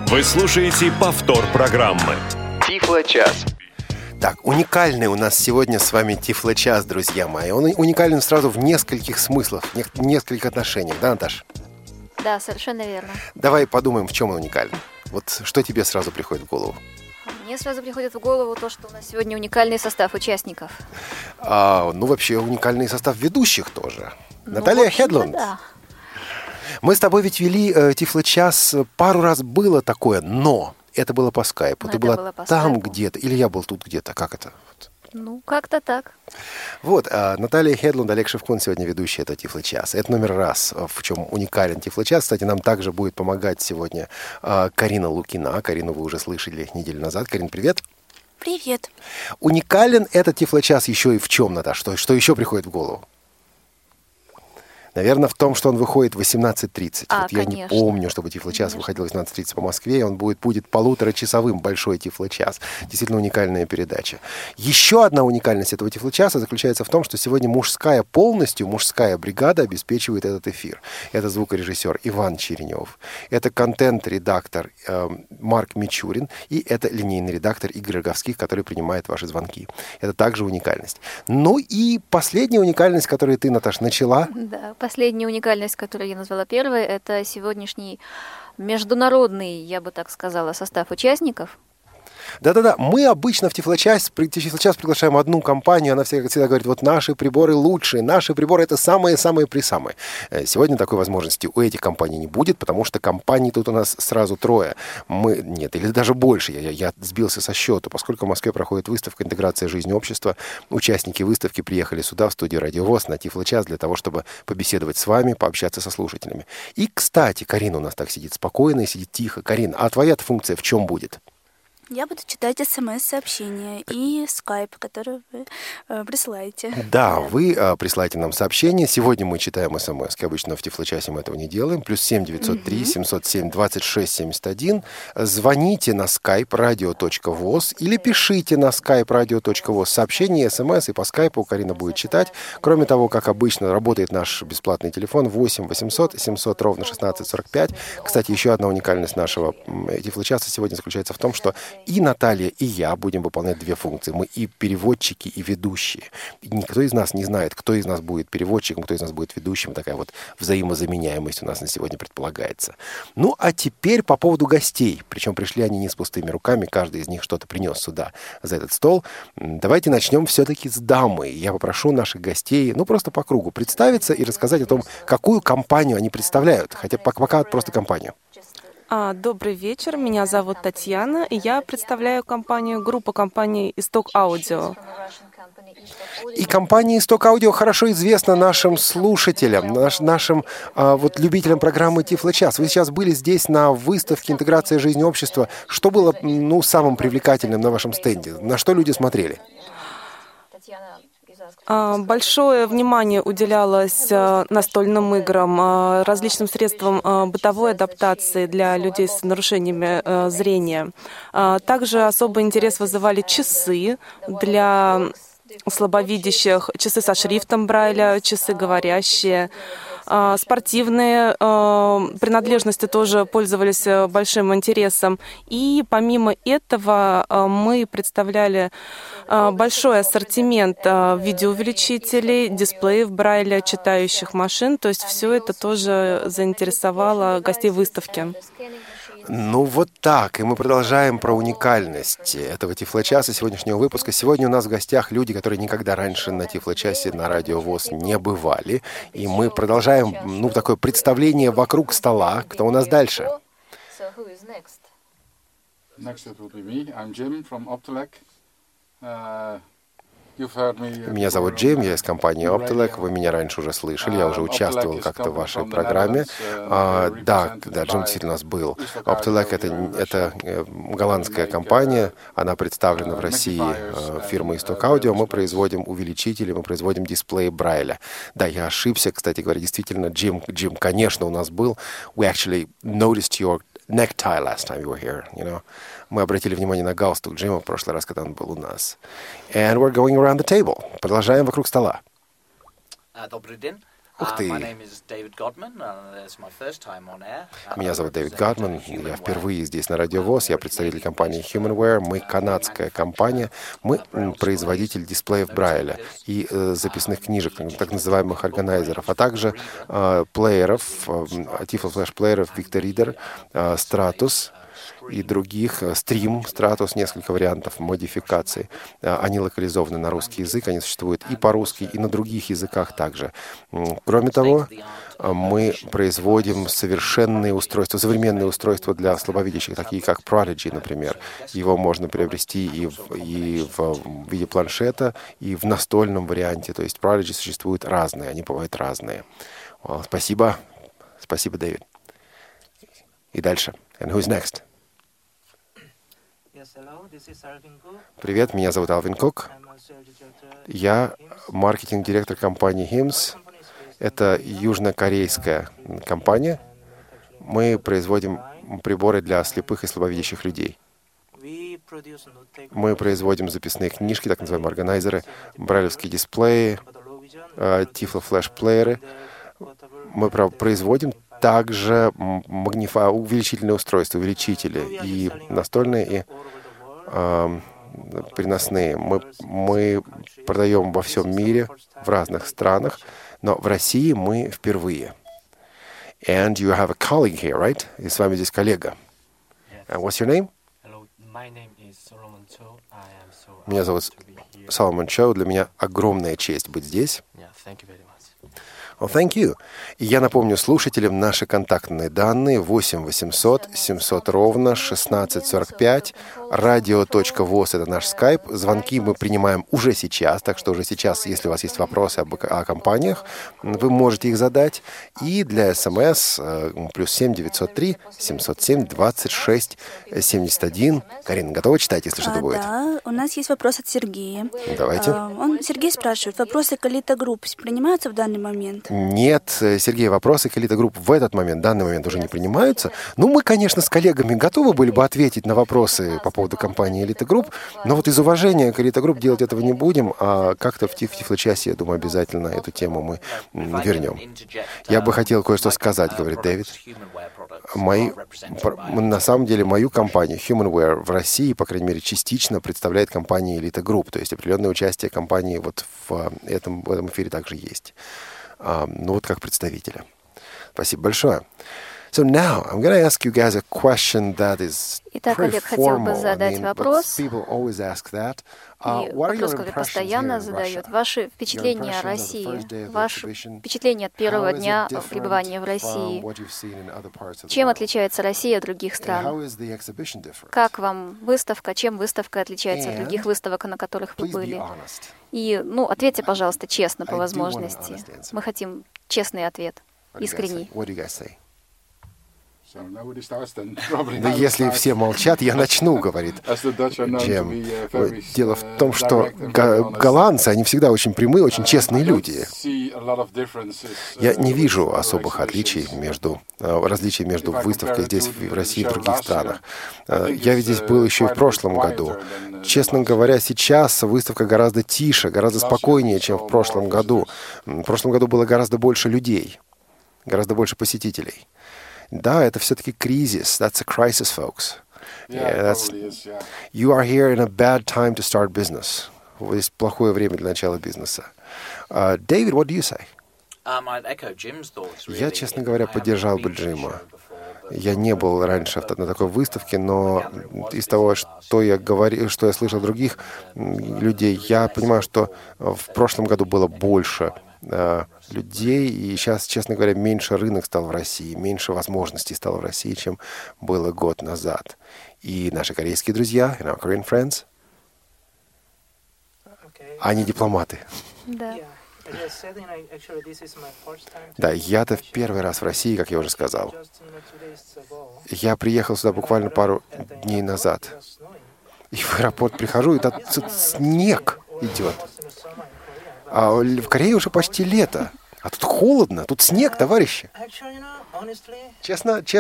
Вы слушаете повтор программы Тифло-час. Так, уникальный у нас сегодня с вами Тифло-час, друзья мои. Он уникален сразу в нескольких смыслах, в нескольких отношениях, да, Наташ? Да, совершенно верно. Давай подумаем, в чем он уникален. Вот что тебе сразу приходит в голову? Мне сразу приходит в голову то, что у нас сегодня уникальный состав участников. Вообще уникальный состав ведущих тоже. Наталья Хедлунд. Да. Мы с тобой ведь вели Тифло-час, пару раз было такое, но это было по скайпу. Ты была там где-то, или я был тут где-то, как это? Как-то так. Наталья Хедлунд, Олег Шевкун сегодня ведущий этого Тифло-час. Это номер раз, в чем уникален Тифло-час. Кстати, нам также будет помогать сегодня Карина Лукина. Карину вы уже слышали неделю назад. Карин, привет. Привет. Уникален этот Тифло-час еще и в чем, Наташа? Что еще приходит в голову? Наверное, в том, что он выходит в 18:30. Я не помню, чтобы Тифло-час выходил в 18:30 по Москве. Он будет полуторачасовым, большой Тифло-час. Действительно уникальная передача. Еще одна уникальность этого Тифло-часа заключается в том, что сегодня мужская бригада обеспечивает этот эфир. Это звукорежиссер Иван Черенев, это контент-редактор Марк Мичурин и это линейный редактор Игорь Роговских, который принимает ваши звонки. Это также уникальность. Ну и последняя уникальность, которую ты, Наташа, начала. Да. Последняя уникальность, которую я назвала первой, это сегодняшний международный, я бы так сказала, состав участников. Да-да-да, мы обычно в Тифло-час приглашаем одну компанию, она всегда говорит, вот наши приборы лучшие, наши приборы это самые-самые-присамые. Сегодня такой возможности у этих компаний не будет, потому что компаний тут у нас сразу трое. Или даже больше, я сбился со счету, поскольку в Москве проходит выставка «Интеграция жизни общества». Участники выставки приехали сюда, в студию Радио ВОС, на Тифло-час, для того, чтобы побеседовать с вами, пообщаться со слушателями. И, кстати, Карина у нас так сидит спокойно и сидит тихо. Карин, а твоя функция в чем будет? Я буду читать СМС-сообщения и скайп, который вы присылаете. Да, вы присылаете нам сообщения. Сегодня мы читаем СМС. Обычно в Тифло-часе мы этого не делаем. +7 903 707 26 71. Звоните на skype radio.voz или пишите на skype radio.voz сообщения, СМС, и по скайпу Карина будет читать. Кроме того, как обычно, работает наш бесплатный телефон 8 800 700 ровно 1645. Кстати, еще одна уникальность нашего Тифло-часа сегодня заключается в том, что и Наталья, и я будем выполнять две функции. Мы и переводчики, и ведущие. И никто из нас не знает, кто из нас будет переводчиком, кто из нас будет ведущим. Такая вот взаимозаменяемость у нас на сегодня предполагается. Ну, а теперь по поводу гостей. Причем пришли они не с пустыми руками. Каждый из них что-то принес сюда, за этот стол. Давайте начнем все-таки с дамы. Я попрошу наших гостей, просто по кругу представиться и рассказать о том, какую компанию они представляют. Хотя пока просто компанию. Добрый вечер, меня зовут Татьяна, и я представляю группу компаний «Исток Аудио». И компания «Исток Аудио» хорошо известна нашим слушателям, нашим любителям программы Тифло-час. Вы сейчас были здесь на выставке «Интеграция жизни общества». Что было самым привлекательным на вашем стенде? На что люди смотрели? Большое внимание уделялось настольным играм, различным средствам бытовой адаптации для людей с нарушениями зрения. Также особый интерес вызывали часы для слабовидящих, часы со шрифтом Брайля, часы говорящие. Спортивные принадлежности тоже пользовались большим интересом. И помимо этого мы представляли большой ассортимент видеоувеличителей, дисплеев Брайля, читающих машин. То есть все это тоже заинтересовало гостей выставки. Так. И мы продолжаем про уникальность этого Тифло-часа, сегодняшнего выпуска. Сегодня у нас в гостях люди, которые никогда раньше на Тифло-часе на Радио ВОС не бывали. И мы продолжаем, такое представление вокруг стола. Кто у нас дальше? Next it will be me. I'm Jim from Optelec. Меня зовут Джим, я из компании Optelec. Вы меня раньше уже слышали, я уже участвовал как-то в вашей программе. Да, Джим действительно у нас был. Optelec — это голландская компания, она представлена в России фирмой «Исток Аудио». Мы производим увеличители, мы производим дисплеи Брайля. Да, я ошибся, кстати говоря, действительно, Джим, конечно, у нас был. We actually noticed your necktie last time you were here, Мы обратили внимание на галстук Джима в прошлый раз, когда он был у нас. And we're going around the table. Продолжаем вокруг стола. Добрый день. Ух ты! Меня зовут Дэвид Гадман. Я впервые здесь на Радио ВОС. Я представитель компании Humanware. Мы канадская компания. Мы производитель дисплеев Брайля и записных книжек, так называемых органайзеров, а также плееров, Tiflo Flash плееров Victor Reader, Stratus и других, Stream, Stratus, несколько вариантов модификаций. Они локализованы на русский язык, они существуют и по-русски, и на других языках также. Кроме того, мы производим совершенные устройства, современные устройства для слабовидящих, такие как Prodigy, например. Его можно приобрести и в виде планшета, и в настольном варианте. То есть Prodigy существуют разные, они бывают разные. Спасибо. Спасибо, Дэвид. И дальше. And who's next? Привет, меня зовут Алвин Кук. Я маркетинг-директор компании HIMS. Это южнокорейская компания. Мы производим приборы для слепых и слабовидящих людей. Мы производим записные книжки, так называемые органайзеры, брайлевские дисплеи, Tiflo Flash плееры. Мы производим также увеличительные устройства, увеличители, и настольные, и переносные. Мы продаем во всем мире, в разных странах, но в России мы впервые. And you have a colleague here, right? И с вами здесь коллега. And what's your name? Hello, my name is Solomon Cho. Меня зовут Соломон Чоу. Для меня огромная честь быть здесь. Thank you very much. Well, thank you. И я напомню слушателям наши контактные данные 8 800 700 ровно 1645. Radio.voz — это наш скайп. Звонки мы принимаем уже сейчас, так что уже сейчас, если у вас есть вопросы о компаниях, вы можете их задать. И для СМС +7 903 707 26 71. Карина, готова читать, если что-то будет? Да, у нас есть вопрос от Сергея. Давайте. Сергей спрашивает, вопросы Колита Групп принимаются в данный момент? Нет, Сергей, вопросы Колита Групп в этот момент, в данный момент уже не принимаются. Ну, мы, конечно, с коллегами готовы были бы ответить на вопросы по поводу компании Elite Group, но вот из уважения к Elite Group делать этого не будем, а как-то в Тифлочасе, я думаю, обязательно эту тему мы вернем. Я бы хотел кое-что сказать, говорит Дэвид. На самом деле, мою компанию Humanware в России, по крайней мере, частично представляет компания Elite Group, то есть определенное участие компании вот в этом эфире также есть. Ну вот как представителя. Спасибо большое. So now I'm going to ask you guys a question that is Итак, pretty Олег хотел бы formal. задать вопрос. People always ask that. И вопрос, который постоянно задают. Ваши впечатления о России, ваши впечатления от первого дня пребывания в России. Чем отличается Россия от других стран? Как вам выставка? Чем выставка отличается от других выставок, на которых вы были? И, ответьте, пожалуйста, честно, по возможности. Мы хотим честный ответ, искренний. Да если все молчат, я начну, говорит Джем. Дело в том, что голландцы, они всегда очень прямые, очень честные люди. Я не вижу особых различий между выставкой здесь, в России и в других странах. Я ведь здесь был еще и в прошлом году. Честно говоря, сейчас выставка гораздо тише, гораздо спокойнее, чем в прошлом году. В прошлом году было гораздо больше людей, гораздо больше посетителей. Да, это все-таки кризис. That's a crisis, folks. You are here in a bad time to start business. Здесь плохое время для начала бизнеса. David, what do you say? Я, честно говоря, поддержал бы Джима. Я не был раньше на такой выставке, но из того, что я слышал других людей, я понимаю, что в прошлом году было больше людей, и сейчас, честно говоря, меньше рынок стал в России, меньше возможностей стало в России, чем было год назад. И наши корейские друзья, our Korean friends, они дипломаты. Да. Да, я-то в первый раз в России, как я уже сказал. Я приехал сюда буквально пару дней назад. И в аэропорт прихожу, и там снег идет. А в Корее уже почти лето. А тут холодно, тут снег, товарищи. Честно?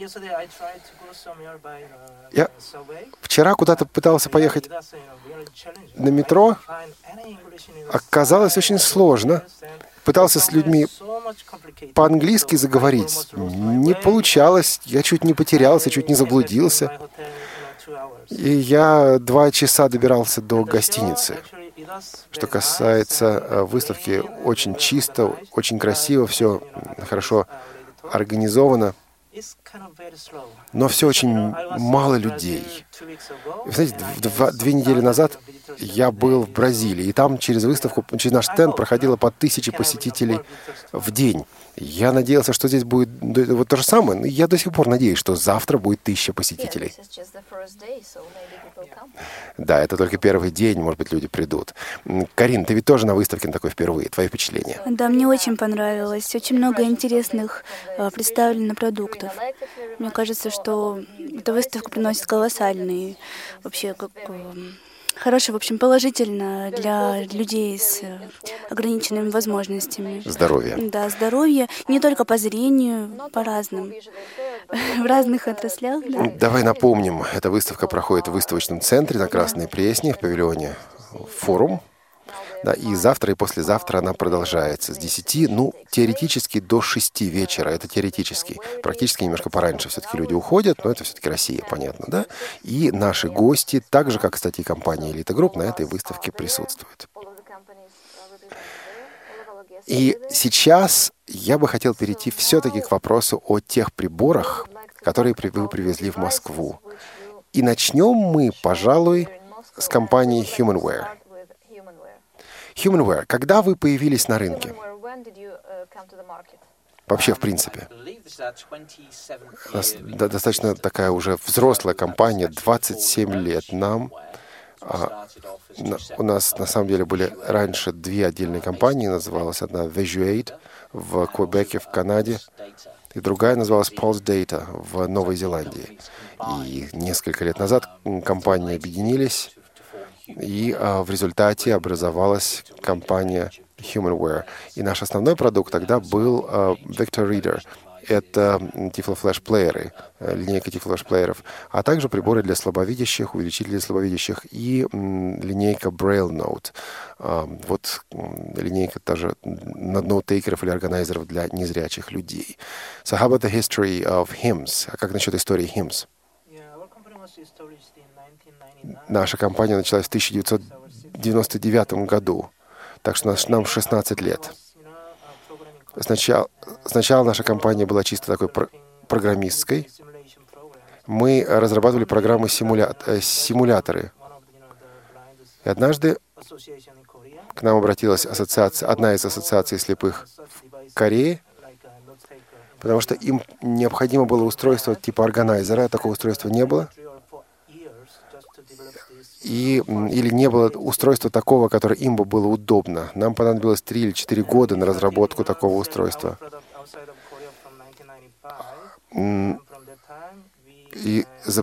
Я вчера куда-то пытался поехать на метро. Оказалось очень сложно. Пытался с людьми по-английски заговорить. Не получалось. Я чуть не потерялся, чуть не заблудился. И я 2 часа добирался до гостиницы. Что касается выставки, очень чисто, очень красиво, все хорошо организовано. Но все очень мало людей. Вы знаете, 2 недели назад я был в Бразилии, и там через выставку, через наш стенд проходило по 1000 посетителей в день. Я надеялся, что здесь будет вот то же самое, но я до сих пор надеюсь, что завтра будет 1000 посетителей. Да, это только первый день, может быть, люди придут. Карин, ты ведь тоже на выставке такой впервые. Твои впечатления? Да, мне очень понравилось. Очень много интересных представлено продуктов. Мне кажется, что эта выставка приносит колоссальные, вообще, хорошее, в общем, положительно для людей с ограниченными возможностями. Здоровье. Да, здоровье. Не только по зрению, по разным, в разных отраслях. Да. Давай напомним, эта выставка проходит в выставочном центре на Красной Пресне, в павильоне «Форум». Да, и завтра, и послезавтра она продолжается с 10, теоретически до 6 вечера. Это теоретически. Практически немножко пораньше все-таки люди уходят, но это все-таки Россия, понятно, да? И наши гости, так же, как, кстати, и компания «Элита Групп», на этой выставке присутствуют. И сейчас я бы хотел перейти все-таки к вопросу о тех приборах, которые вы привезли в Москву. И начнем мы, пожалуй, с компании HumanWare. HumanWare, когда вы появились на рынке? Вообще, в принципе. У нас достаточно такая уже взрослая компания, 27 лет нам. У нас, на самом деле, были раньше 2 отдельные компании. Называлась одна Visuate в Квебеке, в Канаде. И другая называлась Pulse Data в Новой Зеландии. И несколько лет назад компании объединились. И в результате образовалась компания HumanWare. И наш основной продукт тогда был Victor Reader. Это тифлофлеш-плееры, линейка тифлофлеш-плееров, а также приборы для слабовидящих, увеличители для слабовидящих и линейка Braille Note. Вот линейка тоже ноутейкеров или органайзеров для незрячих людей. So how about the history of HIMSS? А как насчет истории HIMSS? Наша компания началась в 1999 году, так что нам 16 лет. Сначала наша компания была чисто такой программистской. Мы разрабатывали программы симуляторы. И однажды к нам обратилась одна из ассоциаций слепых в Корее, потому что им необходимо было устройство типа органайзера, а такого устройства не было. Или не было устройства такого, которое им бы было удобно. Нам понадобилось 3 или 4 года на разработку такого устройства. И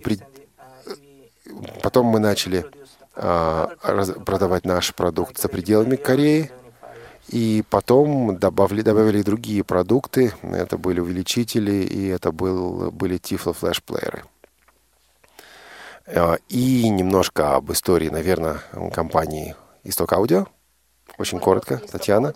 потом мы начали продавать наш продукт за пределами Кореи. И потом добавили другие продукты. Это были увеличители, и это были тифлофлеш-плееры. И немножко об истории, наверное, компании «Исток Аудио». Очень коротко. Татьяна.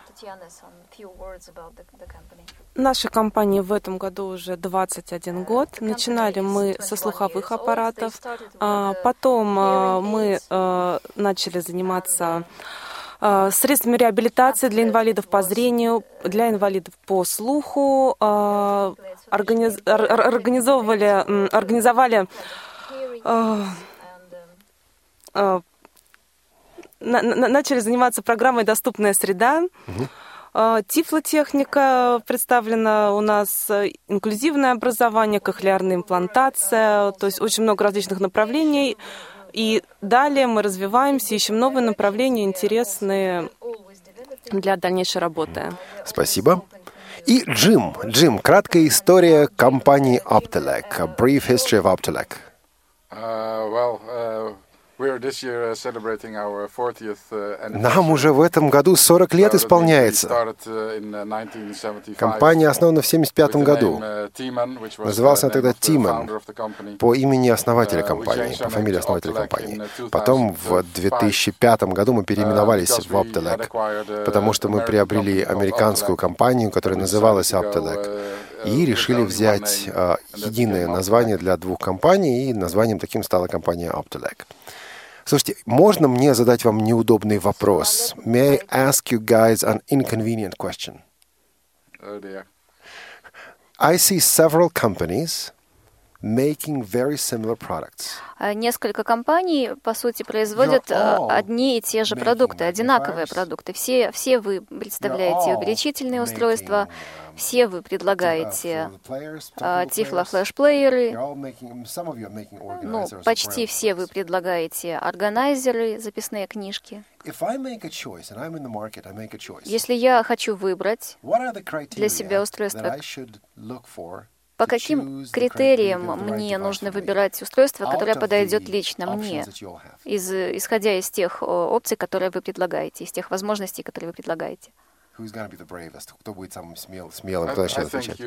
Нашей компании в этом году уже 21 год. Начинали мы со слуховых аппаратов. Потом мы начали заниматься средствами реабилитации для инвалидов по зрению, для инвалидов по слуху. Организовали начали заниматься программой «Доступная среда». Тифлотехника представлена у нас, инклюзивное образование, кохлеарная имплантация, то есть очень много различных направлений. И далее мы развиваемся, ищем новые направления, интересные для дальнейшей работы. Спасибо. И Джим, краткая история компании Optelec. A brief history of Optelec. Нам уже в этом году 40 лет исполняется. Компания основана в 1975 году. Называлась она тогда Тиман по имени основателя компании, по фамилии основателя компании. Потом в 2005 году мы переименовались в Optelec, потому что мы приобрели американскую компанию, которая называлась Optelec, и решили взять единое название для двух компаний, и названием таким стала компания Optelec. Слушайте, можно мне задать вам неудобный вопрос? May I ask you guys an inconvenient question? Oh dear. I see several companies making very similar products. Несколько компаний, по сути, производят одни и те же продукты, одинаковые продукты. Все вы представляете увеличительные устройства, все вы предлагаете тифлофлешплееры, почти все вы предлагаете органайзеры, записные книжки. Если я хочу выбрать для себя устройство, по каким критериям мне нужно выбирать устройство, которое подойдет лично мне, исходя из тех опций, которые вы предлагаете, из тех возможностей, которые вы предлагаете? Кто будет самым смелым, кто начнет отвечать?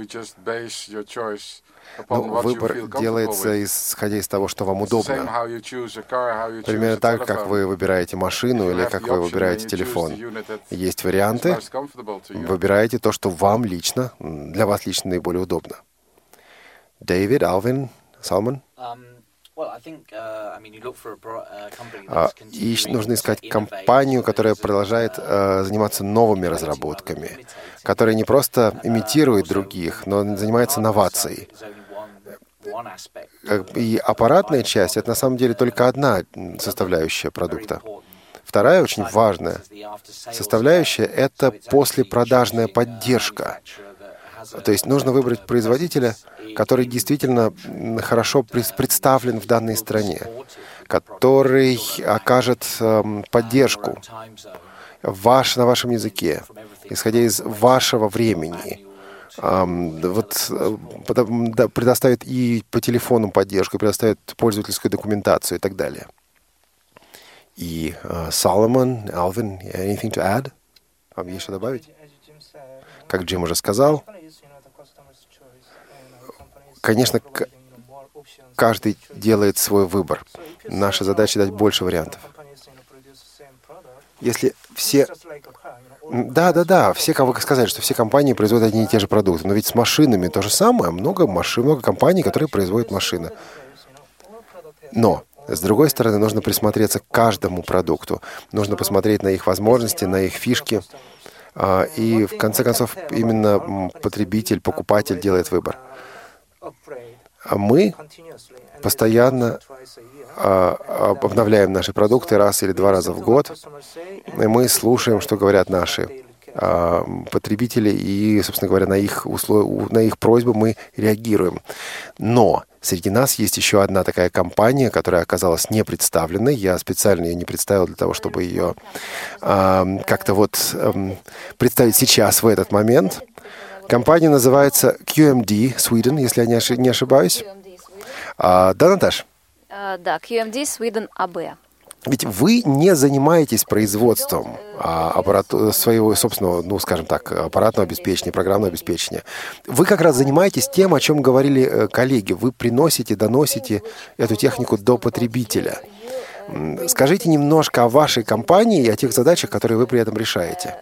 Выбор делается исходя из того, что вам удобно. Примерно так, как вы выбираете машину или как вы выбираете телефон. Есть варианты. Выбираете то, что вам лично, для вас лично наиболее удобно. Дэвид, Алвин, Салман? И нужно искать компанию, которая продолжает заниматься новыми разработками, которая не просто имитирует других, но занимается новацией. И аппаратная часть — это на самом деле только одна составляющая продукта. Вторая очень важная составляющая — это послепродажная поддержка. То есть нужно выбрать производителя, который действительно хорошо представлен в данной стране, который окажет поддержку на вашем языке, исходя из вашего времени. Предоставит и по телефону поддержку, предоставит пользовательскую документацию и так далее. И Соломон, Алвин, anything to add? Вам есть что добавить? Как Джим уже сказал, конечно, каждый делает свой выбор. Наша задача — дать больше вариантов. Если все... Да, все, как вы сказали, что все компании производят одни и те же продукты. Но ведь с машинами то же самое. Много компаний, которые производят машины. Но, с другой стороны, нужно присмотреться к каждому продукту. Нужно посмотреть на их возможности, на их фишки. И, в конце концов, именно потребитель, покупатель делает выбор. А мы постоянно обновляем наши продукты раз или два раза в год. И мы слушаем, что говорят наши потребители, и, собственно говоря, на их просьбы мы реагируем. Но среди нас есть еще одна такая компания, которая оказалась не представленной. Я специально ее не представил для того, чтобы ее как-то представить сейчас, в этот момент. Компания называется QMD Sweden, если я не ошибаюсь. Да, Наташ? Да, QMD Sweden AB. Ведь вы не занимаетесь производством своего собственного, скажем так, аппаратного обеспечения, программного обеспечения. Вы как раз занимаетесь тем, о чем говорили коллеги. Вы доносите эту технику до потребителя. Скажите немножко о вашей компании и о тех задачах, которые вы при этом решаете.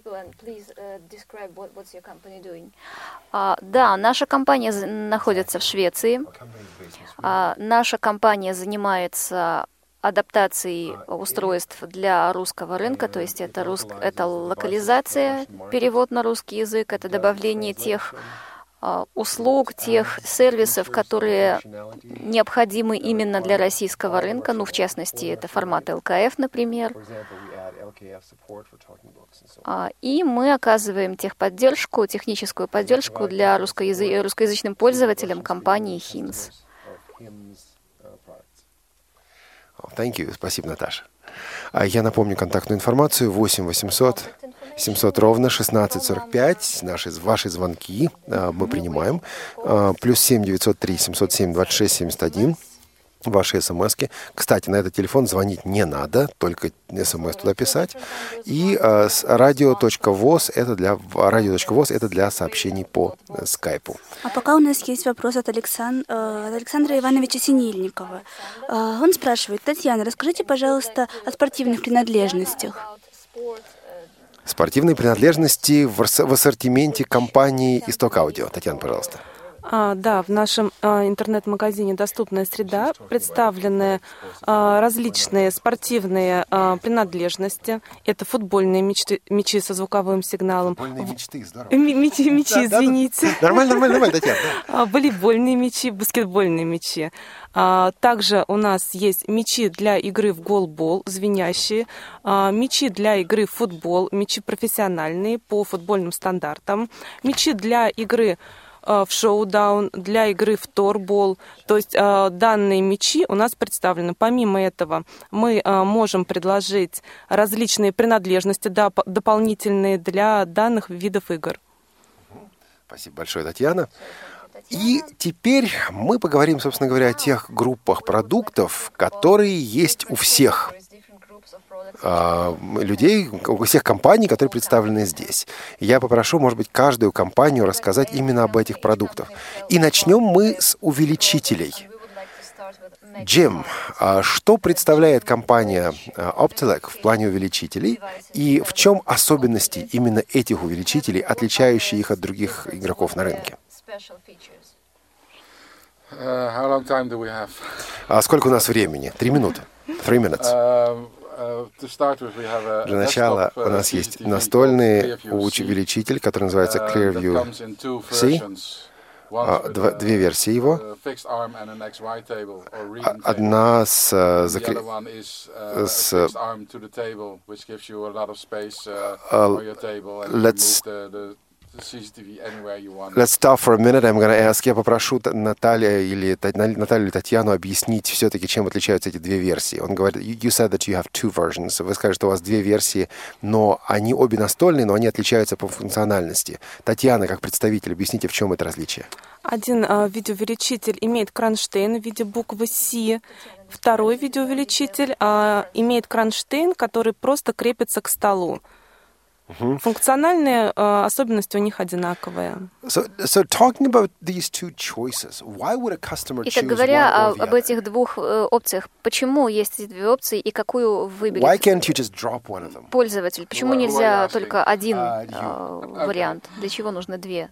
Да, наша компания находится в Швеции. Наша компания занимается адаптацией устройств для русского рынка, то есть это локализация, перевод на русский язык, это добавление тех услуг, тех сервисов, которые необходимы именно для российского рынка, в частности, это формат LKF, например. И мы оказываем техническую поддержку для русскоязычным пользователям компании HIMSS. Thank you. Спасибо, Наташа. Я напомню контактную информацию: 8-800-700-1645. Ваши звонки мы принимаем. +7 903 707 26 71. ваши смски. Кстати, на этот телефон звонить не надо, только смс туда писать. И radio.voz это для сообщений по скайпу. А пока у нас есть вопрос от Александра Ивановича Синельникова. Он спрашивает: Татьяна, расскажите, пожалуйста, о спортивных принадлежностях. Спортивные принадлежности в ассортименте компании «Исток Аудио». Татьяна, пожалуйста. Да, в нашем интернет-магазине «Доступная среда» представлены различные спортивные принадлежности. Это футбольные мячи со звуковым сигналом. Футбольные мечты, здорово. Мячи, извините. Нормально, Татьяна. Волейбольные мячи, баскетбольные мячи. Также у нас есть мячи для игры в голбол, звенящие, мячи для игры в футбол, мячи профессиональные по футбольным стандартам, мячи для игры в шоу-даун, для игры в торбол. То есть данные мячи у нас представлены. Помимо этого, мы можем предложить различные принадлежности дополнительные для данных видов игр. Спасибо большое, Татьяна. И теперь мы поговорим, собственно говоря, о тех группах продуктов, которые есть у всех людей, у всех компаний, которые представлены здесь. Я попрошу, может быть, каждую компанию рассказать именно об этих продуктах. И начнем мы с увеличителей. Джим, что представляет компания Optelec в плане увеличителей и в чем особенности именно этих увеличителей, отличающие их от других игроков на рынке? Сколько у нас времени? 3 минуты. 3 minutes. Для начала у нас есть настольный увеличитель, который называется Clearview C. Две версии его. Одна Let's stop for a minute. I'm going to ask. Я попрошу Наталью или Татьяну объяснить все-таки, чем отличаются эти две версии. Он говорит, you said that you have 2 versions. Вы скажете, что у вас 2 версии, но они обе настольные, но они отличаются по функциональности. Татьяна, как представитель, объясните, в чем это различие. Один видеоувеличитель имеет кронштейн в виде буквы C. Второй видеоувеличитель имеет кронштейн, который просто крепится к столу. Функциональные особенности у них одинаковые. Итак, говоря об этих двух опциях, почему есть эти 2 опции и какую выберет пользователь? Почему нельзя только один вариант? Для чего нужно 2?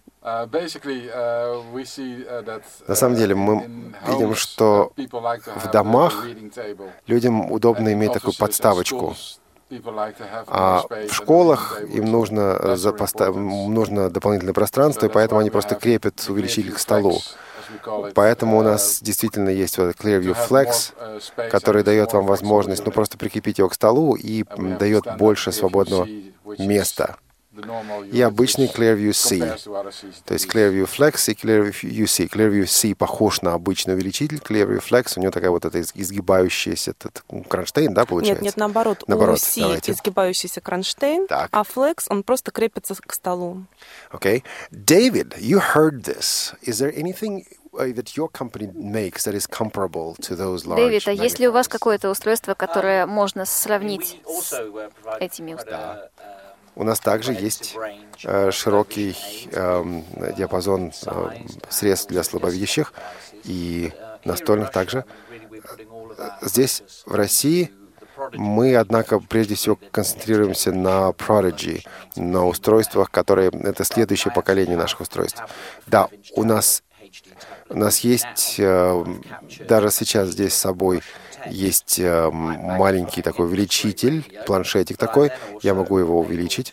На самом деле мы видим, что в домах людям удобно иметь такую подставочку. А в школах им нужно дополнительное пространство, и поэтому они просто крепят увеличитель к столу. Поэтому у нас действительно есть вот Clearview Flex, который дает вам возможность просто прикрепить его к столу и дает больше свободного места. И обычный Clearview C. То есть Clearview Flex и Clearview C. Clearview C похож на обычный увеличитель. Clearview Flex, у него такая вот эта изгибающаяся кронштейн, да, получается? Нет, наоборот. У C изгибающийся кронштейн, а Flex, он просто крепится к столу. Okay. David, you heard this. Is there anything that your company makes that is comparable to those large? Дэвид, а есть ли у вас какое-то устройство, которое можно сравнить с этими устройствами? У нас также есть широкий диапазон средств для слабовидящих и настольных также. Здесь, в России, мы, однако, прежде всего концентрируемся на Prodigy, на устройствах, которые... Это следующее поколение наших устройств. Да, у нас есть, даже сейчас здесь с собой, есть маленький такой увеличитель, планшетик такой. Я могу его увеличить.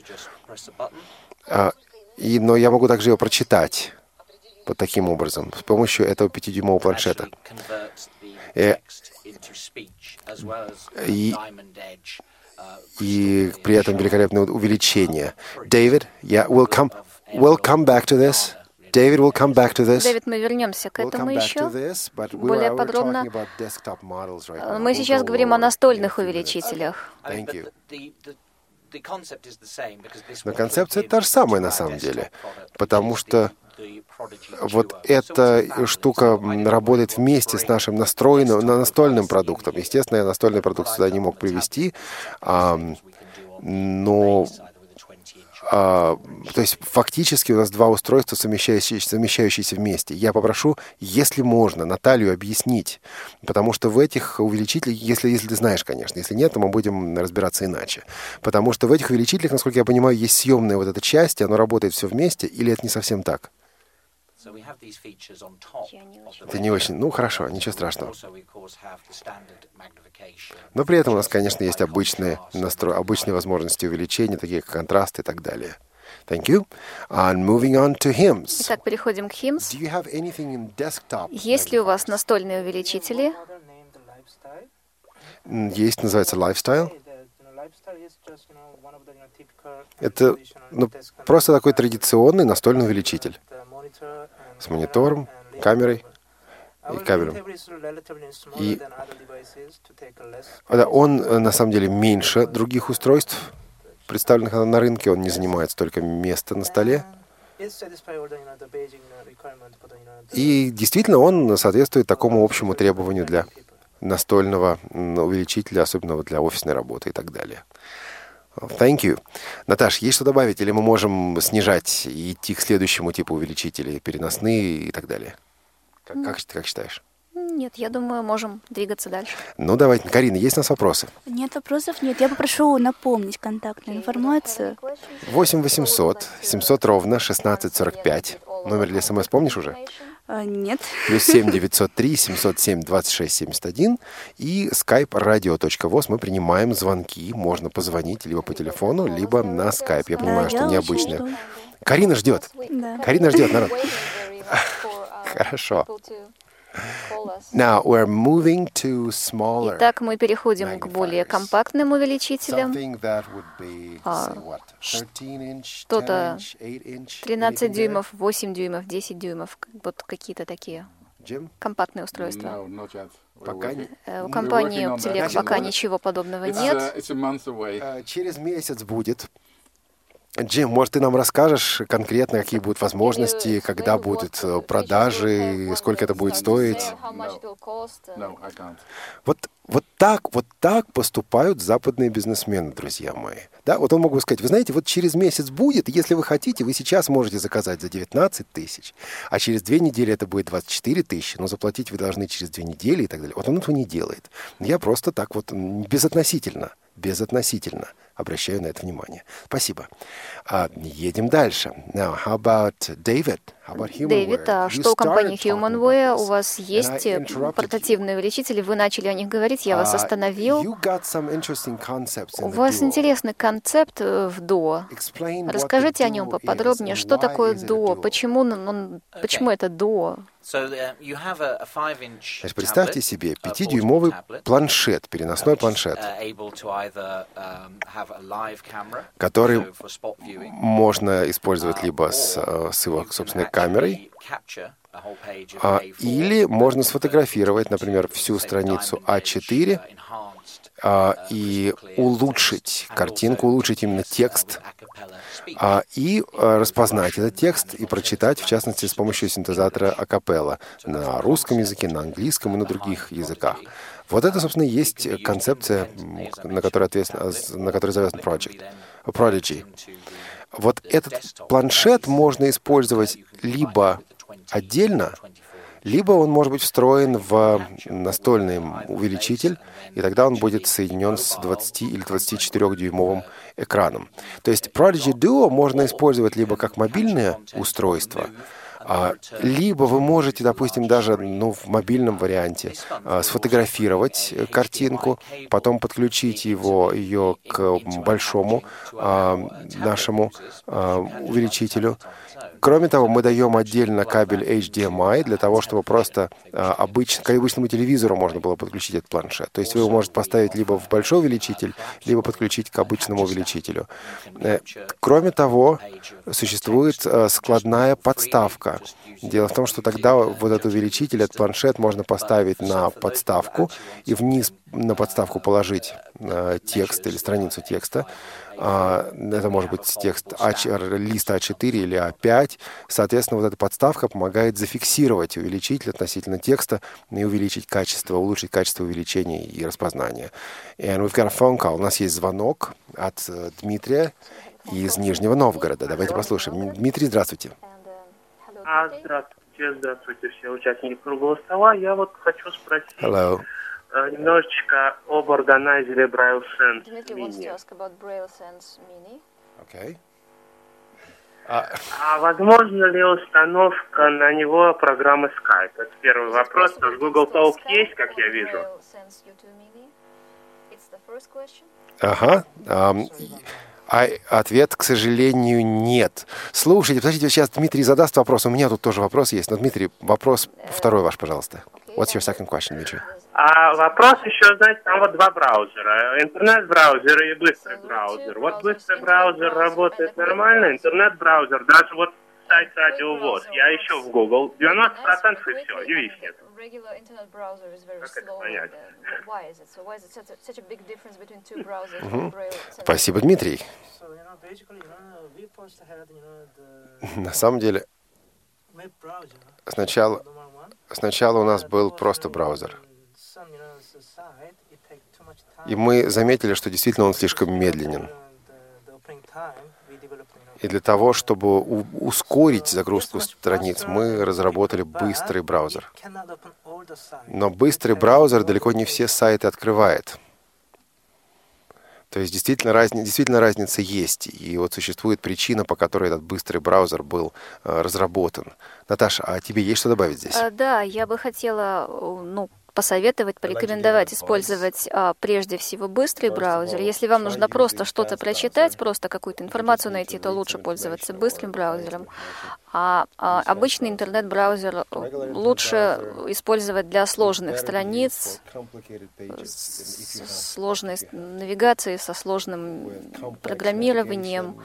Но я могу также его прочитать вот таким образом, с помощью этого 5-дюймового планшета. И при этом великолепное увеличение. David, we'll come back to this. David will come back to this. Дэвид, мы вернемся к этому еще более подробно. Мы сейчас говорим о настольных увеличителях. Но концепция та же самая на самом деле, потому что вот эта штука работает вместе с нашим настольным продуктом. Естественно, я настольный продукт сюда не мог привести, но то есть фактически у нас два устройства, совмещающиеся вместе. Я попрошу, если можно, Наталью объяснить, потому что в этих увеличителях, если ты знаешь, конечно, если нет, то мы будем разбираться иначе. Потому что в этих увеличителях, насколько я понимаю, есть съемная вот эта часть, и оно работает все вместе, или это не совсем так? Это не очень. Ну, хорошо, ничего страшного. Но при этом у нас, конечно, есть обычные возможности увеличения, такие как контраст и так далее. Thank you. And moving on to hymns. Итак, переходим к hymns. Do you have anything in desktop? Есть ли у вас настольные увеличители? Есть, называется Lifestyle. Это просто такой традиционный настольный увеличитель с монитором, камерой и кабелем. И он на самом деле меньше других устройств, представленных на рынке. Он не занимает столько места на столе. И действительно он соответствует такому общему требованию для настольного увеличителя, особенно для офисной работы и так далее. Thank you. Наташ, есть что добавить? Или мы можем снижать и идти к следующему типу увеличителей, переносные и так далее? Как считаешь? Нет, я думаю, можем двигаться дальше. Ну, давайте. Карина, есть у нас вопросы? Нет вопросов, нет. Я попрошу напомнить контактную информацию. 8 800 700 ровно 1645. Номер для СМС помнишь уже? Нет. Плюс 7 903 707 26 71 и skype radio.voz. Мы принимаем звонки. Можно позвонить либо по телефону, либо на Skype. Я понимаю, что необычно. Карина ждет. Да. Карина ждет, народ. Хорошо. Now we're moving to smaller. Итак, мы переходим к более компактным увеличителям. Что-то 13 дюймов, 8 дюймов, 10 дюймов, вот какие-то такие компактные устройства. У компании Optelec пока ничего подобного нет. Через месяц будет. Джим, может, ты нам расскажешь конкретно, какие будут возможности, когда будут продажи, сколько это будет стоить? Вот так поступают западные бизнесмены, друзья мои. Да, вот он мог бы сказать, вы знаете, вот через месяц будет, если вы хотите, вы сейчас можете заказать за 19 тысяч, а через 2 недели это будет 24 тысячи, но заплатить вы должны через 2 недели и так далее. Вот он этого не делает. Я просто так вот безотносительно обращаю на это внимание. Спасибо. Едем дальше. Now, how about David? Дэвид, а что у компании HumanWare? У вас есть портативные увеличители, вы начали о них говорить, я вас остановил. У вас интересный концепт в DUO. Расскажите о нем поподробнее. Что такое DUO? Почему это DUO? Значит, представьте себе 5-дюймовый планшет, переносной планшет, который можно использовать либо с его собственной камерой, или можно сфотографировать, например, всю страницу А4 и улучшить картинку, улучшить именно текст, и распознать этот текст и прочитать, в частности, с помощью синтезатора акапелла на русском языке, на английском и на других языках. Вот это, собственно, и есть концепция, на которой завязан Prodigy. Вот этот планшет можно использовать либо отдельно, либо он может быть встроен в настольный увеличитель, и тогда он будет соединен с 20 или 24-дюймовым экраном. То есть Prodigy Duo можно использовать либо как мобильное устройство, либо вы можете, допустим, даже в мобильном варианте сфотографировать картинку, потом подключить ее к большому нашему увеличителю. Кроме того, мы даем отдельно кабель HDMI для того, чтобы просто к обычному телевизору можно было подключить этот планшет. То есть вы его можете поставить либо в большой увеличитель, либо подключить к обычному увеличителю. Кроме того, существует складная подставка. Дело в том, что тогда вот этот увеличитель, этот планшет можно поставить на подставку и вниз на подставку положить текст или страницу текста. Это может быть текст листа А4 или А5. Соответственно, вот эта подставка помогает зафиксировать увеличитель относительно текста и увеличить качество, улучшить качество увеличения и распознания. And we've got a phone call. У нас есть звонок от Дмитрия из Нижнего Новгорода. Давайте послушаем. Дмитрий, здравствуйте. Здравствуйте все участники круглого стола. Я вот хочу спросить немножечко об органайзере Braille Sense Mini. Okay. А возможно ли установка на него программы Skype? Это первый вопрос. Потому что Google Talk есть, как я вижу. Ага. Ответ, к сожалению, нет. Слушайте, подождите, сейчас Дмитрий задаст вопрос. У меня тут тоже вопрос есть. Но, Дмитрий, вопрос второй ваш, пожалуйста. What's your second question, Дмитрий? А вопрос еще, знаете, там вот два браузера. Интернет-браузер и быстрый браузер. Вот быстрый браузер работает нормально, интернет-браузер, даже вот сайт Радио ВОС. Я ищу в Google, 90% и все, и виснет. Как это понять? Спасибо, Дмитрий. На самом деле, сначала у нас был просто браузер. И мы заметили, что действительно он слишком медленен. И для того, чтобы ускорить загрузку страниц, мы разработали быстрый браузер. Но быстрый браузер далеко не все сайты открывает. То есть действительно разница есть. И вот существует причина, по которой этот быстрый браузер был разработан. Наташа, а тебе есть что добавить здесь? Да, я бы хотела посоветовать, порекомендовать использовать прежде всего быстрый браузер. Если вам нужно просто что-то прочитать, просто какую-то информацию найти, то лучше пользоваться быстрым браузером. А обычный интернет-браузер лучше использовать для сложных страниц, с сложной навигацией, со сложным программированием.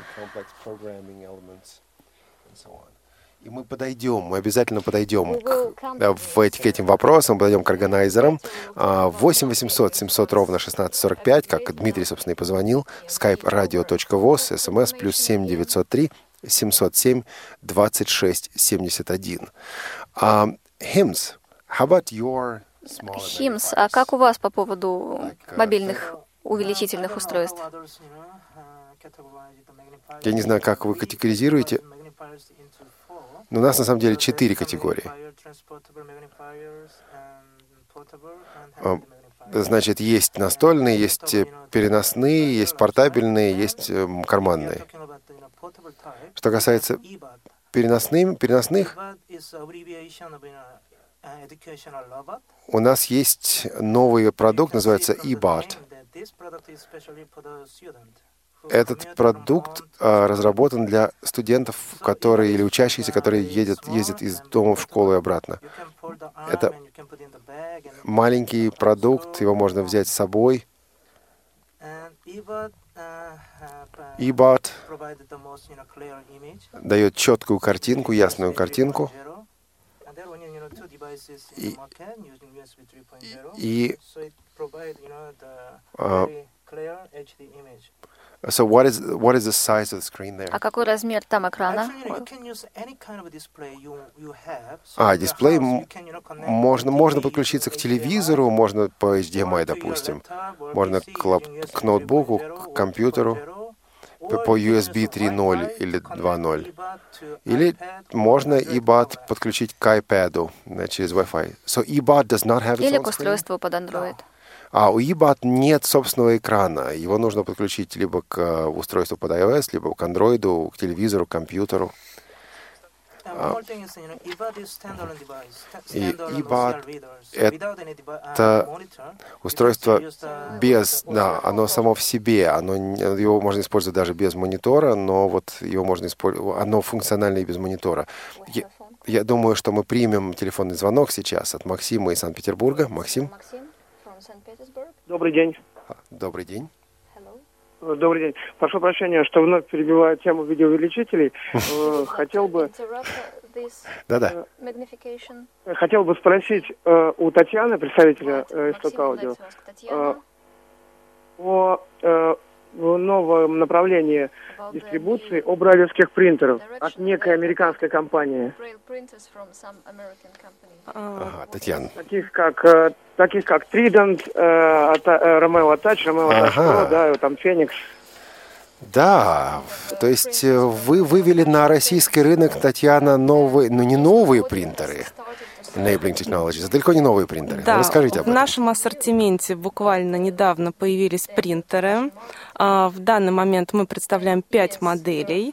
И мы обязательно подойдем к этим вопросам, подойдем к органайзерам. 8 800 700 ровно 1645, как Дмитрий, собственно, и позвонил, skype radio.voz, смс +7 903 707 26 71. Hims, how about your small... Hims, а как у вас по поводу мобильных увеличительных устройств? Я не знаю, как вы категоризируете, но у нас на самом деле 4 категории. Значит, есть настольные, есть переносные, есть портабельные, есть карманные. Что касается переносных, у нас есть новый продукт, называется eBot. Этот продукт разработан для студентов, или учащихся, которые ездят из дома в школу и обратно. Это маленький продукт, его можно взять с собой. eBot дает четкую картинку, ясную картинку. So what is the size of the screen there? А какой размер там экрана? Дисплей можно подключиться к телевизору, можно по HDMI, допустим, можно к ноутбуку, к компьютеру, по USB 3.0 или 2.0. Или можно eBot подключить к iPad через Wi-Fi. So eBot does not have its own screen? Или к устройству под Android. У eBot нет собственного экрана. Его нужно подключить либо к устройству под iOS, либо к Android, к телевизору, к компьютеру. И eBot — это устройство оно само в себе, его можно использовать даже без монитора, но вот его можно использовать, оно функционально и без монитора. Я думаю, что мы примем телефонный звонок сейчас от Максима из Санкт-Петербурга. Максим? Добрый день. Добрый день. Добрый день. Прошу прощения, что вновь перебиваю тему видеоувеличителей. Хотел бы... Да-да. Хотел бы спросить у Татьяны, представителя Исток Аудио, новое направление дистрибуции о брайлевских принтерах от некой американской компании. Ага, Татьяна. Таких как Trident, Romeo Touch, Romeo Touch Pro, да, там Phoenix. Да, то есть вы вывели на российский рынок, Татьяна, новые, не новые принтеры, Enabling Technologies, это далеко не новые принтеры. Да, расскажите об этом. В нашем ассортименте буквально недавно появились принтеры. В данный момент мы представляем 5 моделей.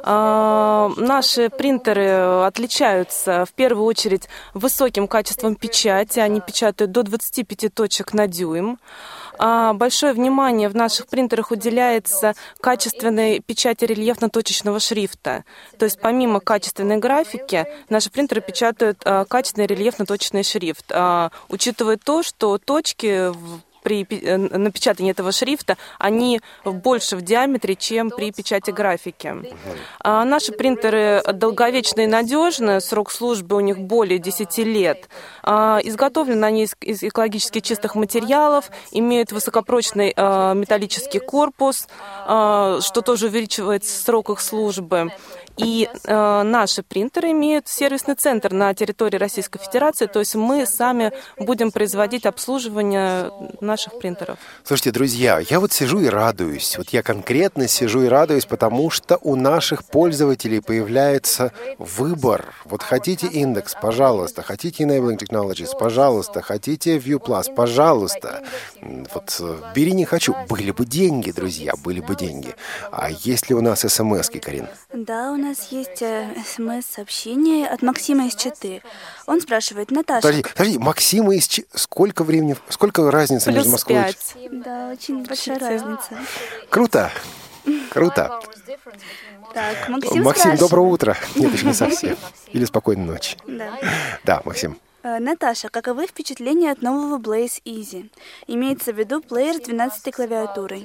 Наши принтеры отличаются в первую очередь высоким качеством печати. Они печатают до 25 точек на дюйм. Большое внимание в наших принтерах уделяется качественной печати рельефно-точечного шрифта. То есть помимо качественной графики, наши принтеры печатают качественный рельефно-точечный шрифт, учитывая то, что точки при напечатании этого шрифта, они больше в диаметре, чем при печати графики. Наши принтеры долговечны и надежны, срок службы у них более 10 лет. Изготовлены они из экологически чистых материалов, имеют высокопрочный металлический корпус, что тоже увеличивает срок их службы. И наши принтеры имеют сервисный центр на территории Российской Федерации, то есть мы сами будем производить обслуживание наших принтеров. Слушайте, друзья, я вот сижу и радуюсь. Вот я конкретно сижу и радуюсь, потому что у наших пользователей появляется выбор. Вот хотите индекс, пожалуйста. Хотите Enabling Technologies, пожалуйста. Хотите View Plus, пожалуйста. Вот бери не хочу. Были бы деньги, друзья, были бы деньги. А есть ли у нас смс-ки, Карин? Да, у нас есть смс-сообщение от Максима из Читы. Он спрашивает: Наташа... Подожди, Максима из Читы... Сколько времени, сколько разница между Москвой и Читой? Да, очень большая разница. Круто. Круто. Так, Максим, доброе утро. Нет, еще не совсем. Или спокойной ночи. Да, Максим. Наташа, каковы впечатления от нового Blaze Easy? Имеется в виду плеер с 12-й клавиатурой.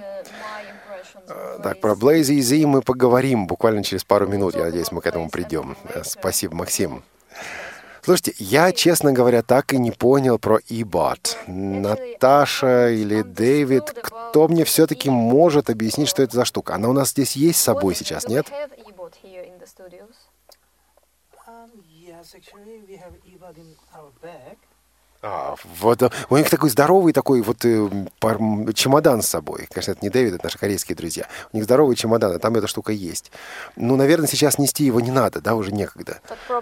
Так, про Blaze Easy мы поговорим буквально через пару минут. Я надеюсь, мы к этому придем. Спасибо, Максим. Слушайте, я, честно говоря, так и не понял про eBot. Наташа или Дэвид, кто мне все-таки может объяснить, что это за штука? Она у нас здесь есть с собой сейчас, нет? Вот у них такой здоровый такой вот чемодан с собой. Конечно, это не Дэвид, это наши корейские друзья. У них здоровый чемодан, а там эта штука есть. Ну, наверное, сейчас нести его не надо, да, уже некогда.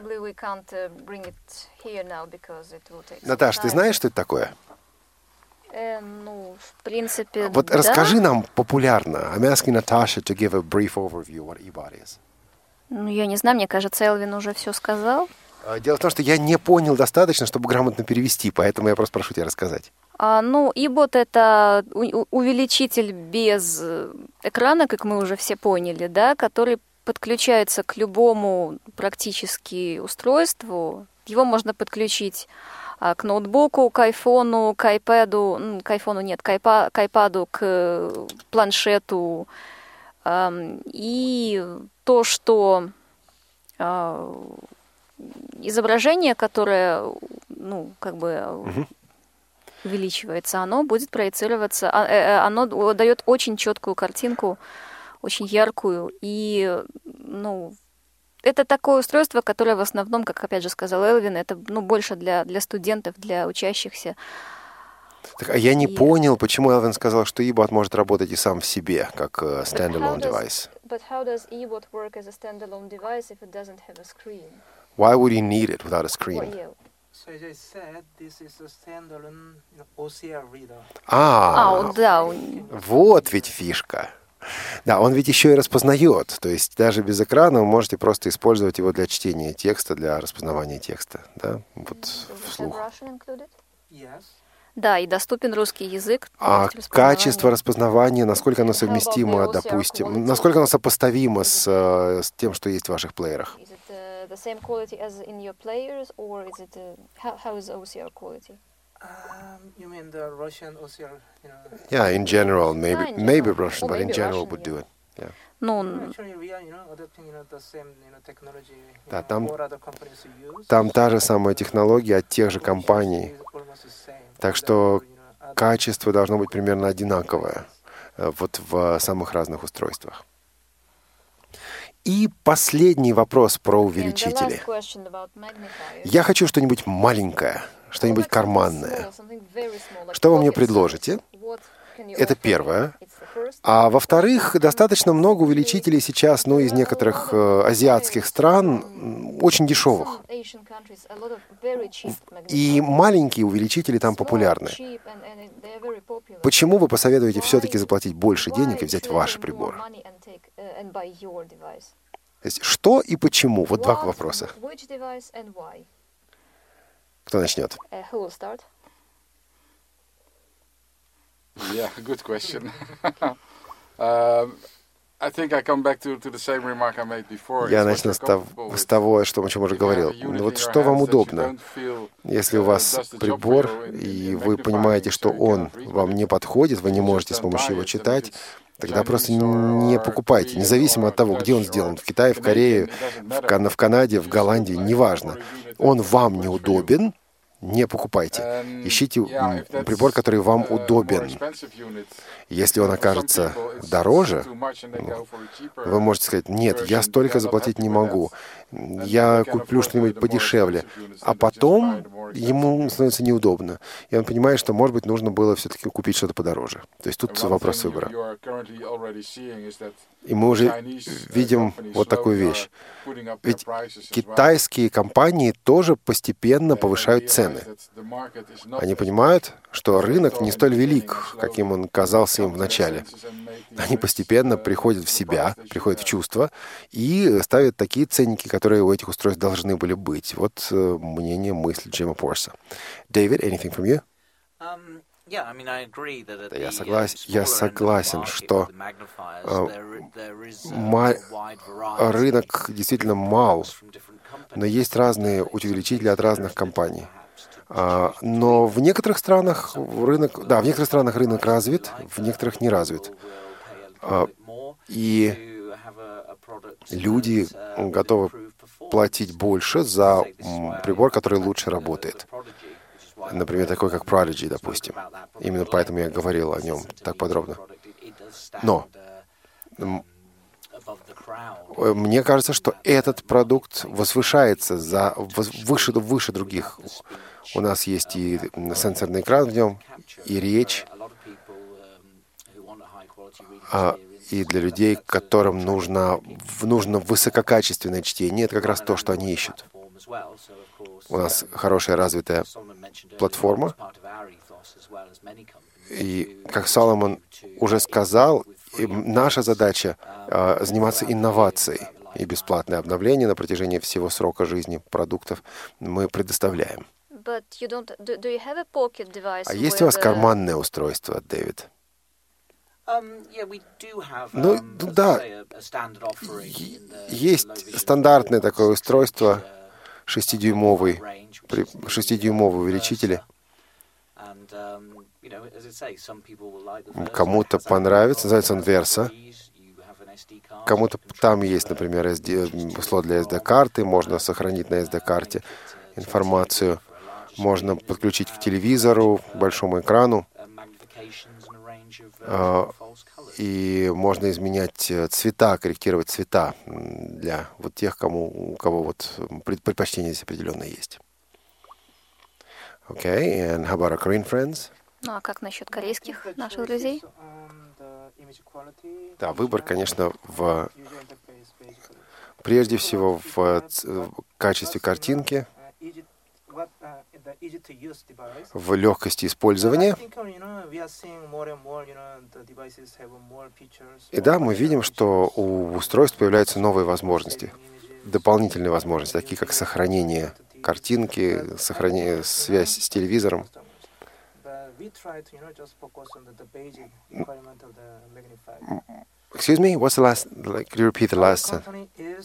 Наташ, ты знаешь, что это такое? Ну, в принципе, вот да. Расскажи нам популярно. I'm asking Natasha to give a brief overview what eBot is. Ну, я не знаю, мне кажется, Элвин уже все сказал. Дело в том, что я не понял достаточно, чтобы грамотно перевести, поэтому я просто прошу тебя рассказать. Ну, eBot — это увеличитель без экрана, как мы уже все поняли, да, который подключается к любому практически устройству. Его можно подключить к ноутбуку, к айфону, к айпаду, к айфону нет, к айпаду, к планшету. И то, что изображение, которое, увеличивается, оно будет проецироваться, оно дает очень четкую картинку, очень яркую. И, это такое устройство, которое в основном, как опять же сказал Элвин, это больше для студентов, для учащихся. Так, а я не понял, почему Элвин сказал, что eBot может работать и сам в себе, как standalone device. But how does eBot work as a standalone device if it doesn't have a screen? Why would he need it without a screen? So as I said, this is a standalone OCR reader. Да. Вот ведь фишка. Да, он ведь еще и распознает. То есть даже без экрана вы можете просто использовать его для чтения текста, для распознавания текста. Да, вот вслух. Yes. Да, и доступен русский язык. А качество распознавания, насколько оно совместимо, допустим, насколько оно сопоставимо с тем, что есть в ваших плеерах? The same quality as in your players, or is it how is OCR quality? You mean the Russian OCR? Yeah, in general, maybe Russian, but in general would do it. Yeah. Actually, we are, adopting, the same, technology. Да, там та же самая технология от тех же компаний. Так что качество должно быть примерно одинаковое. вот в самых разных устройствах. И последний вопрос про увеличители. Я хочу что-нибудь маленькое, что-нибудь карманное. Что вы мне предложите? Это первое. А во-вторых, достаточно много увеличителей сейчас, из некоторых азиатских стран, очень дешевых. И маленькие увеличители там популярны. Почему вы посоветуете все-таки заплатить больше денег и взять ваши приборы? То есть, что и почему? Вот два вопроса. Кто начнет? Yeah, good question. I think I come back to the same remark I made before. Я начну с того, о чем уже говорил. Вот что вам удобно? Если у вас прибор, и вы понимаете, что он вам не подходит, вы не можете с помощью его читать, тогда просто не покупайте, независимо от того, где он сделан, в Китае, в Корее, в Канаде, в Голландии, неважно. Он вам неудобен, не покупайте. Ищите прибор, который вам удобен. Если он окажется дороже, вы можете сказать: нет, я столько заплатить не могу, я куплю что-нибудь подешевле. А потом ему становится неудобно. И он понимает, что, может быть, нужно было все-таки купить что-то подороже. То есть тут вопрос выбора. И мы уже видим вот такую вещь. Ведь китайские компании тоже постепенно повышают цены. Они понимают, что рынок не столь велик, каким он казался им в начале. Они постепенно приходят в себя, приходят в чувство и ставят такие ценники, которые у этих устройств должны были быть. Вот мнение, мысль Джима Порса. David, anything from you? Я согласен, что рынок действительно мал, но есть разные увеличители от разных компаний. Но в некоторых странах рынок развит, в некоторых не развит. И люди готовы платить больше за прибор, который лучше работает. Например, такой как Prodigy, допустим. Именно поэтому я говорил о нем так подробно. Но мне кажется, что этот продукт возвышается выше других. У нас есть и сенсорный экран в нем, и речь. И для людей, которым нужно высококачественное чтение, это как раз то, что они ищут. У нас хорошая развитая платформа. И, как Соломон уже сказал, наша задача заниматься инновацией. И бесплатное обновление на протяжении всего срока жизни продуктов мы предоставляем. А есть у вас карманное устройство, Дэвид? Да, есть стандартное такое устройство, 6-дюймовые увеличители. Кому-то понравится, называется он Versa. Кому-то там есть, например, слот для SD-карты, можно сохранить на SD-карте информацию, можно подключить к телевизору, к большому экрану. И можно изменять цвета, корректировать цвета для вот тех, у кого вот предпочтения здесь определенные есть. Okay, and how about our Korean friends? Ну а как насчет корейских наших друзей? Да, выбор, конечно, прежде всего в качестве картинки, в легкости использования. И да, мы видим, что у устройств появляются новые возможности, дополнительные возможности, такие как сохранение картинки, связь с телевизором. Excuse me, what's the last? Could you repeat the last sentence?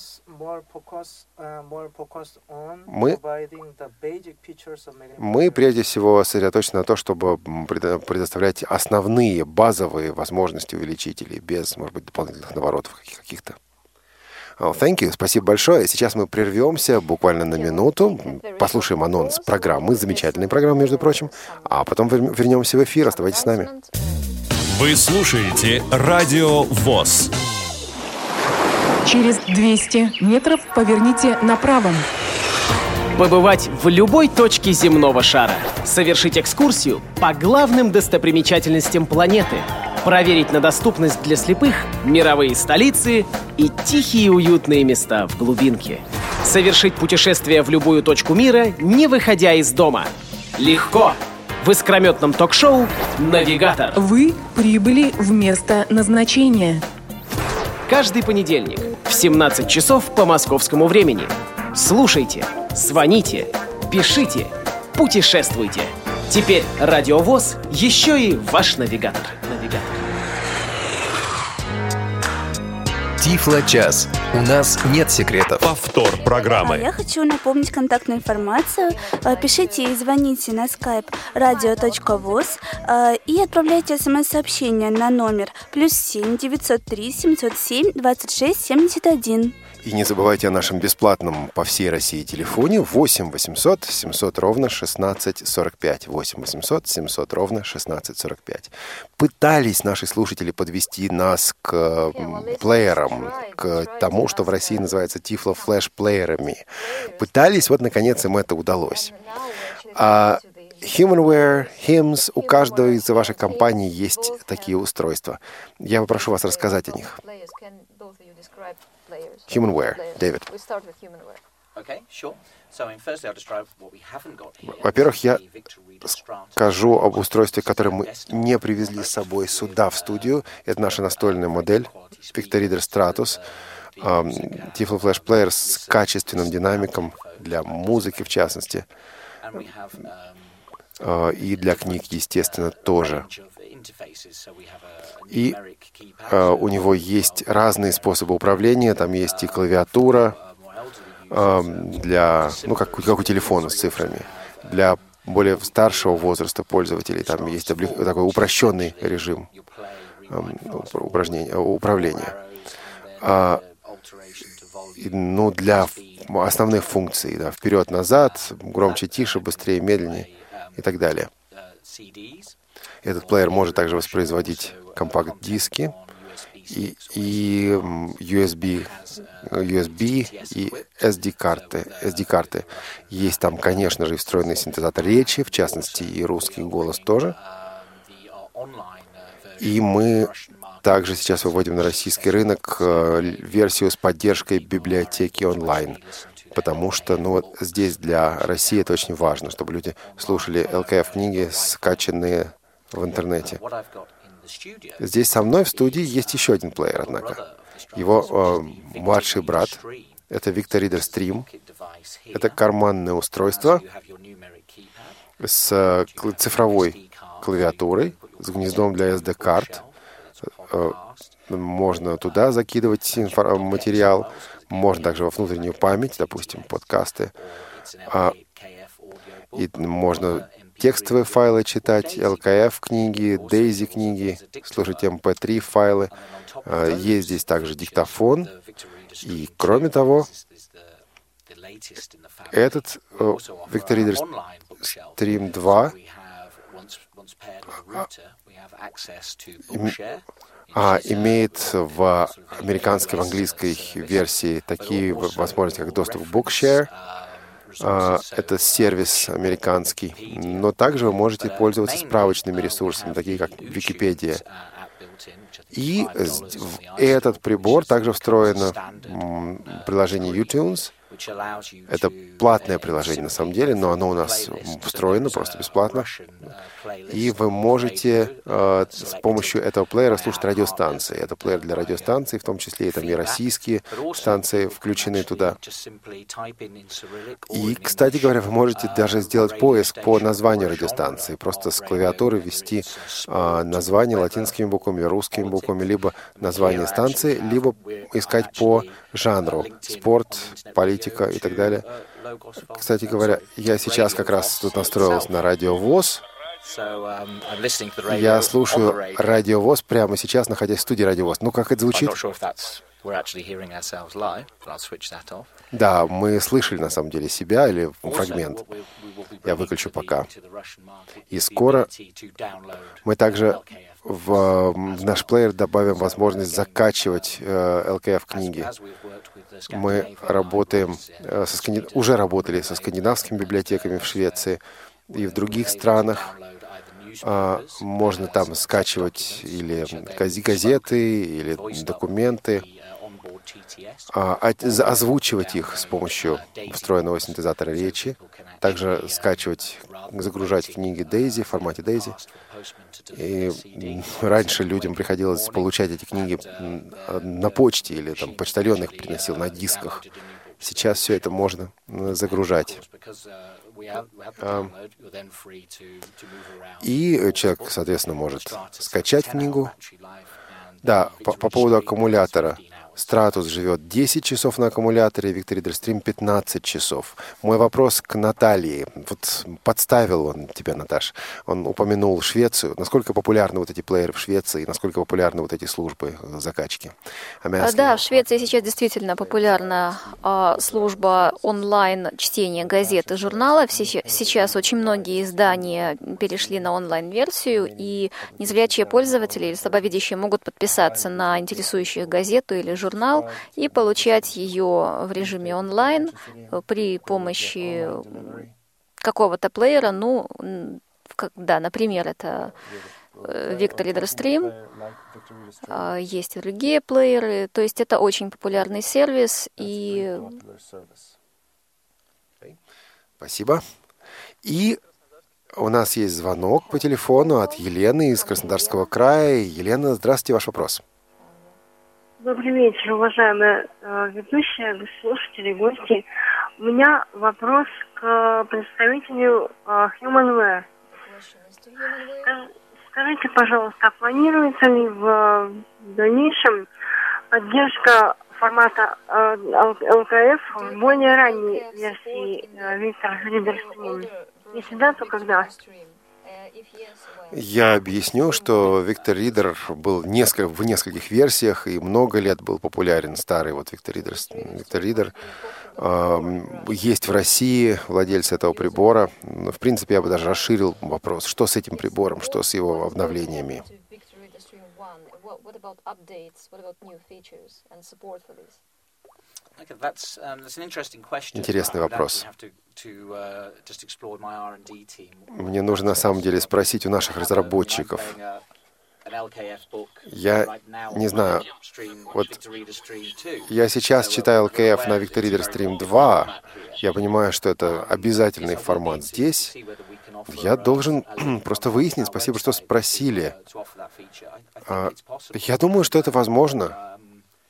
Мы прежде всего сосредоточены на том, чтобы предоставлять основные, базовые возможности увеличителей, без, может быть, дополнительных наворотов каких-то. Thank you, спасибо большое. Сейчас мы прервемся буквально на минуту, послушаем анонс программы, замечательной программы, между прочим, а потом вернемся в эфир. Оставайтесь с нами. Вы слушаете Радио ВОС. Через 200 метров поверните направо. Побывать в любой точке земного шара. Совершить экскурсию по главным достопримечательностям планеты. Проверить на доступность для слепых мировые столицы и тихие уютные места в глубинке. Совершить путешествие в любую точку мира, не выходя из дома. Легко! В искрометном ток-шоу «Навигатор». Вы прибыли в место назначения. Каждый понедельник в 17 часов по московскому времени. Слушайте, звоните, пишите, путешествуйте. Теперь Радио ВОС еще и ваш навигатор. Тифло-час. У нас нет секретов. Повтор программы. Я хочу напомнить контактную информацию. Пишите и звоните на skype radio.voz и отправляйте смс-сообщение на номер +7 903 707 26 71. И не забывайте о нашем бесплатном по всей России телефоне 8 800 700 ровно 16 45. 8 800 700 ровно 16 45. Пытались наши слушатели подвести нас к плеерам, к тому, что в России называется тифло-флэш-плеерами. Пытались, вот наконец им это удалось. Humanware, HIMS, у каждого из ваших компаний есть такие устройства. Я попрошу вас рассказать о них. Humanware, Дэвид. Во-первых, я скажу об устройстве, которое мы не привезли с собой сюда, в студию. Это наша настольная модель Victoreader Stratus. Tiflo Flash Player с качественным динамиком для музыки, в частности. И для книг, естественно, тоже. И у него есть разные способы управления. Там есть и клавиатура для, как у телефона с цифрами. Для более старшего возраста пользователей там есть такой упрощенный режим управления. Для основных функций, вперед-назад, громче, тише, быстрее, медленнее и так далее. Этот плеер может также воспроизводить компакт-диски и USB и SD-карты. Есть там, конечно же, и встроенный синтезатор речи, в частности, и русский голос тоже. И мы также сейчас выводим на российский рынок версию с поддержкой библиотеки онлайн. Потому что здесь для России это очень важно, чтобы люди слушали ЛКФ-книги, скачанные в интернете. Здесь со мной в студии есть еще один плеер, однако. Его младший брат. Это Victoreader Stream. Это карманное устройство с цифровой клавиатурой, с гнездом для SD-карт. Можно туда закидывать материал. Можно также во внутреннюю память, допустим, подкасты. И можно текстовые файлы читать, ЛКФ-книги, DAISY-книги, слушать MP3 файлы. Есть здесь также диктофон. И, кроме того, этот Victoreader Stream 2 имеет в американской, в английской версии такие возможности, как доступ к Bookshare. Это сервис американский. Но также вы можете пользоваться справочными ресурсами, такие как Википедия. И этот прибор также встроено в приложение iTunes. Это платное приложение на самом деле, но оно у нас встроено просто бесплатно. И вы можете с помощью этого плеера слушать радиостанции. Это плеер для радиостанций, в том числе и там и российские станции включены туда. И, кстати говоря, вы можете даже сделать поиск по названию радиостанции. Просто с клавиатуры ввести название латинскими буквами, русскими буквами, либо название станции, либо искать по жанру. Спорт, политика и так далее. Кстати говоря, я сейчас как раз тут настроился на Радио ВОС. Я слушаю Радио ВОС прямо сейчас, находясь в студии Радио ВОС. Ну, как это звучит? Да, мы слышали на самом деле себя или фрагмент. Я выключу пока. И скоро мы также в наш плеер добавим возможность закачивать LKF-книги. Мы работаем, уже работали со скандинавскими библиотеками в Швеции и в других странах. Можно там скачивать или газеты, или документы, озвучивать их с помощью встроенного синтезатора речи, также скачивать, загружать книги Daisy в формате Daisy. И раньше людям приходилось получать эти книги на почте, или там почтальон их приносил на дисках. Сейчас все это можно загружать. И человек, соответственно, может скачать книгу. Да, по поводу аккумулятора. Stratus живет 10 часов на аккумуляторе, Victor Reader Stream 15 часов. Мой вопрос к Наталье. Вот подставил он тебя, Наташ. Он упомянул Швецию. Насколько популярны вот эти плееры в Швеции, насколько популярны вот эти службы закачки? Да, в Швеции сейчас действительно популярна служба онлайн-чтения газет и журналов. Сейчас очень многие издания перешли на онлайн-версию, и незрячие пользователи или слабовидящие могут подписаться на интересующую газету или журнал и получать ее в режиме онлайн при помощи какого-то плеера. Ну, да, например, это Victor Reader Stream. Есть и другие плееры. То есть это очень популярный сервис. И... Спасибо. И у нас есть звонок по телефону от Елены из Краснодарского края. Елена, здравствуйте, ваш вопрос. Добрый вечер, уважаемые ведущие, слушатели, гости. У меня вопрос к представителю Humanware. Скажите, пожалуйста, планируется ли в дальнейшем поддержка формата LKF в более ранней версии Victor Reader Stream? Если да, то когда? Я объясню, что Victor Reader был в нескольких версиях и много лет был популярен. Старый вот Victor Reader. Есть в России владельцы этого прибора. В принципе, я бы даже расширил вопрос, что с этим прибором, что с его обновлениями. Интересный вопрос. Мне нужно на самом деле спросить у наших разработчиков. Я не знаю. Вот я сейчас читаю LKF на Victor Reader Stream 2. Я понимаю, что это обязательный формат здесь. Я должен просто выяснить. Спасибо, что спросили. Я думаю, что это возможно.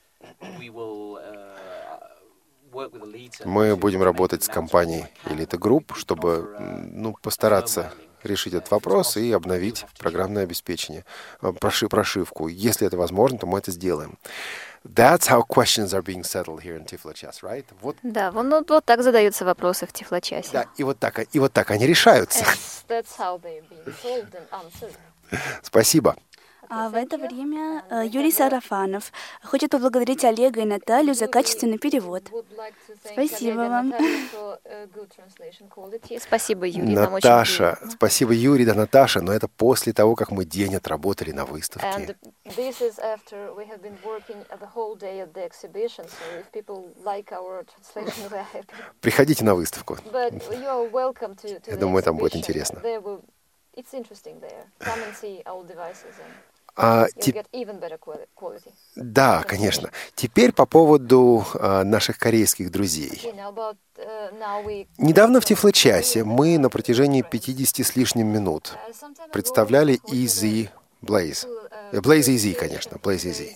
Мы будем работать с компанией Elite Group, чтобы постараться решить этот вопрос и обновить программное обеспечение, прошивку. Если это возможно, то мы это сделаем. That's how questions are being settled here in Tiflo-час, right? Да, вот так задаются вопросы в Тифло-часе. Да, и вот так они решаются. That's how they're being solved and answered. Спасибо. А в это время Юрий Сарафанов хочет поблагодарить Олега и Наталью за качественный перевод. Спасибо вам. Спасибо, Юрий. Наташа, спасибо, Юрий, да, Наташа, но это после того, как мы день отработали на выставке. Приходите на выставку. Я думаю, там будет интересно. Да, конечно. Теперь по поводу наших корейских друзей. Недавно в Тифло-часе мы на протяжении 50 с лишним минут представляли Easy Blaze. Blaze Easy, конечно, Blaze Easy.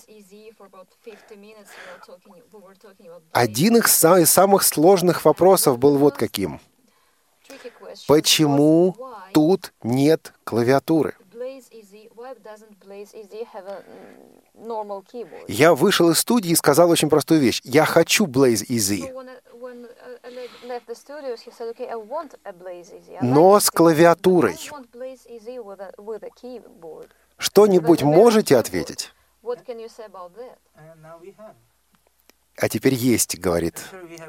Один из самых сложных вопросов был вот каким. Почему тут нет клавиатуры? Я вышел из студии и сказал очень простую вещь. Я хочу Blaze Easy. Но с клавиатурой. Что-нибудь можете ответить? а теперь есть, говорит.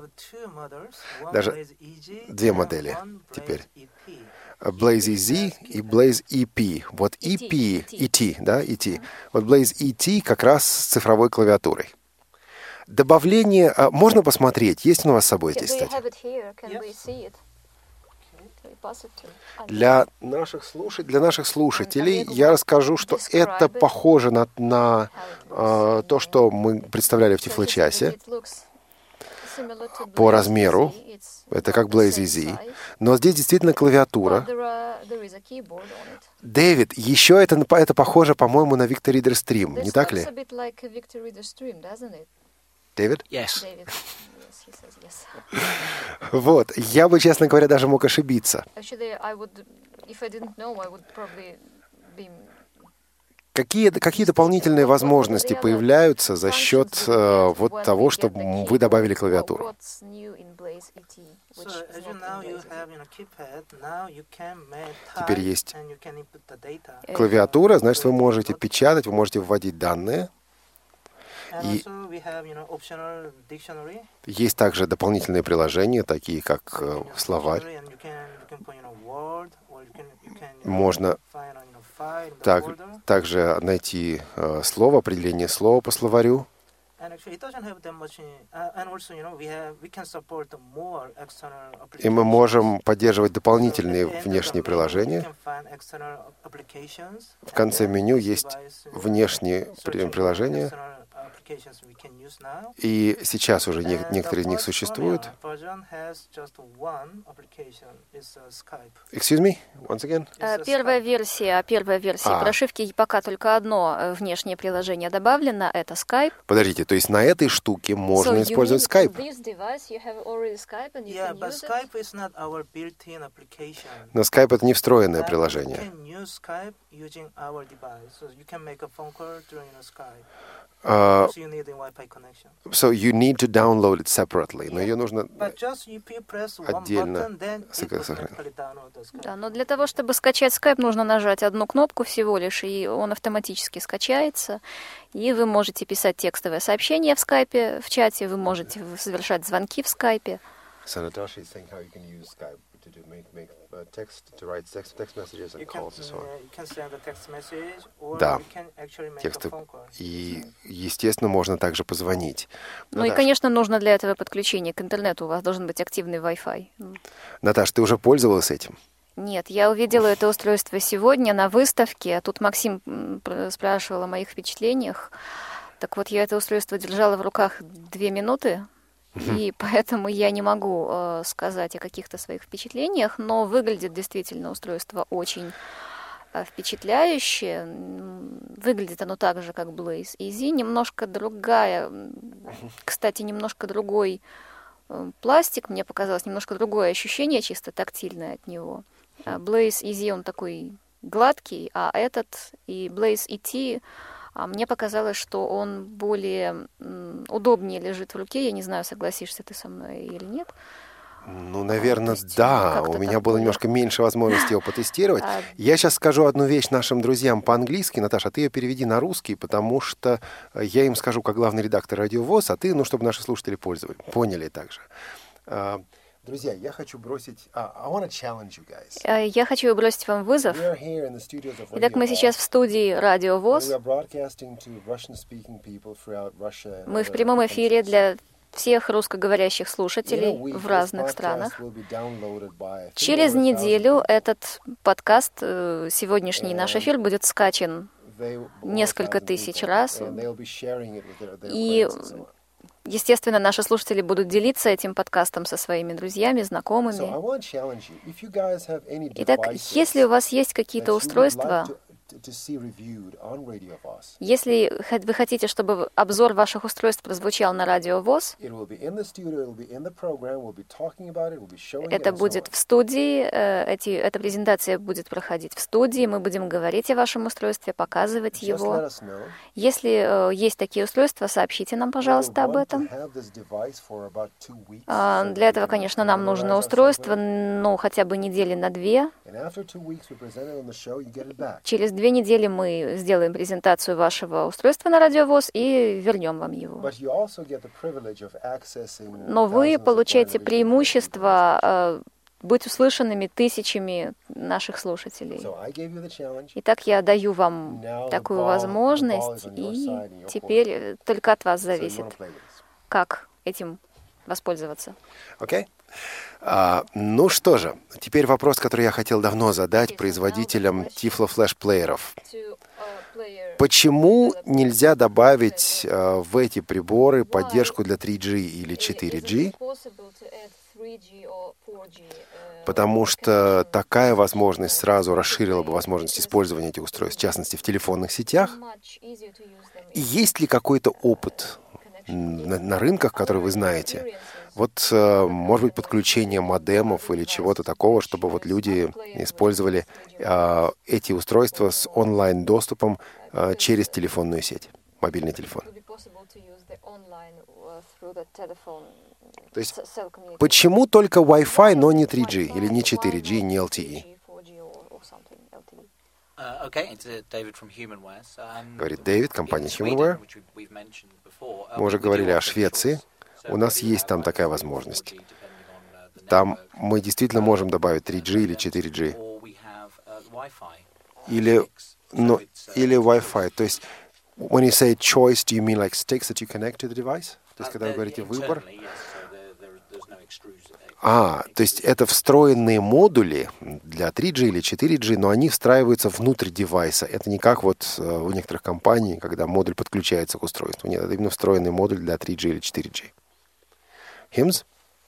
Даже две модели теперь. Blaze EZ и Blaze EP. Вот EP, ET, да, ET. Вот Blaze ET как раз с цифровой клавиатурой. Добавление, можно посмотреть, есть у вас с собой здесь, кстати? Для наших слушателей я расскажу, что это похоже на то, что мы представляли в Тифлочасе по размеру. Это как Blaze EZ. Но здесь действительно клавиатура. Дэвид, еще это похоже, по-моему, на Victor Reader Stream, не так ли? Дэвид? Yes. Вот, я бы, честно говоря, даже мог ошибиться. Какие дополнительные возможности появляются за счет вот того, что вы добавили клавиатуру? Теперь есть клавиатура, значит, вы можете печатать, вы можете вводить данные. И есть также дополнительные приложения, такие как словарь. Можно также найти слово, определение слова по словарю. И мы можем поддерживать дополнительные внешние приложения. В конце меню есть внешние приложения. И сейчас уже некоторые из них существуют. Excuse me? Once again? Первая версия прошивки пока только одно внешнее приложение добавлено, это Skype. Подождите, то есть на этой штуке можно использовать Skype? Но Skype — это не встроенное приложение. So you need to download it separately. Но ее нужно отдельно сохранить. Да, но для того, чтобы скачать Skype, нужно нажать одну кнопку всего лишь, и он автоматически скачается. И вы можете писать текстовое сообщение в Skype, в чате, вы можете совершать звонки в Skype. So Natasha is saying how you can use Skype to make to write text messages and calls and so on. Да, тексты. И, естественно, можно также позвонить. Ну и, конечно, нужно для этого подключение к интернету. У вас должен быть активный Wi-Fi. Наташа, ты уже пользовалась этим? Нет, я увидела это устройство сегодня на выставке. Тут Максим спрашивал о моих впечатлениях. Так вот, я это устройство держала в руках 2 минуты. И поэтому я не могу сказать о каких-то своих впечатлениях, но выглядит действительно устройство очень впечатляюще. Выглядит оно так же, как Blaze EZ, немножко другая, кстати, немножко другой пластик, мне показалось, немножко другое ощущение, чисто тактильное от него. Blaze EZ, он такой гладкий, а этот и Blaze ET, мне показалось, что он более удобнее лежит в руке. Я не знаю, согласишься ты со мной или нет. Ну, наверное, да. У меня было немножко меньше возможности его потестировать. Я сейчас скажу одну вещь нашим друзьям по-английски. Наташа, ты ее переведи на русский, потому что я им скажу как главный редактор Радио ВОС, а ты, чтобы наши слушатели поняли также. Друзья, я хочу бросить... Я хочу бросить вам вызов. Итак, мы сейчас в студии Радио ВОС. Мы в прямом эфире для всех русскоговорящих слушателей в разных странах. Через неделю этот подкаст, сегодняшний наш эфир, будет скачан несколько тысяч раз. И... естественно, наши слушатели будут делиться этим подкастом со своими друзьми, знакомыми. Итак, если у вас есть какие-то устройства, если вы хотите, чтобы обзор ваших устройств прозвучал на Радио ВОС, это будет в студии, эта презентация будет проходить в студии, мы будем говорить о вашем устройстве, показывать его. Если есть такие устройства, сообщите нам, пожалуйста, об этом. Для этого, конечно, нам нужно устройство, хотя бы недели на 2. Через 2 2 недели мы сделаем презентацию вашего устройства на Радио ВОС и вернем вам его. Но вы получаете преимущество быть услышанными тысячами наших слушателей. Итак, я даю вам такую возможность, и теперь только от вас зависит, как этим воспользоваться. Окей. Ну что же, теперь вопрос, который я хотел давно задать производителям Tiflo Flash-плееров. Почему нельзя добавить в эти приборы поддержку для 3G или 4G? Потому что такая возможность сразу расширила бы возможность использования этих устройств, в частности, в телефонных сетях. И есть ли какой-то опыт на рынках, которые вы знаете? Вот, может быть, подключение модемов или чего-то такого, чтобы вот люди использовали эти устройства с онлайн-доступом через телефонную сеть, мобильный телефон. То есть, почему только Wi-Fi, но не 3G, или не 4G, не LTE? Говорит Дэвид, компания HumanWare. Мы уже говорили о Швеции. У нас есть там такая возможность. Там мы действительно можем добавить 3G или 4G. Или Wi-Fi. То есть, when you say choice, do you mean like sticks that you connect to the device? То есть, когда вы говорите «выбор». То есть это встроенные модули для 3G или 4G, но они встраиваются внутрь девайса. Это не как вот у некоторых компаний, когда модуль подключается к устройству. Нет, это именно встроенный модуль для 3G или 4G. Химс?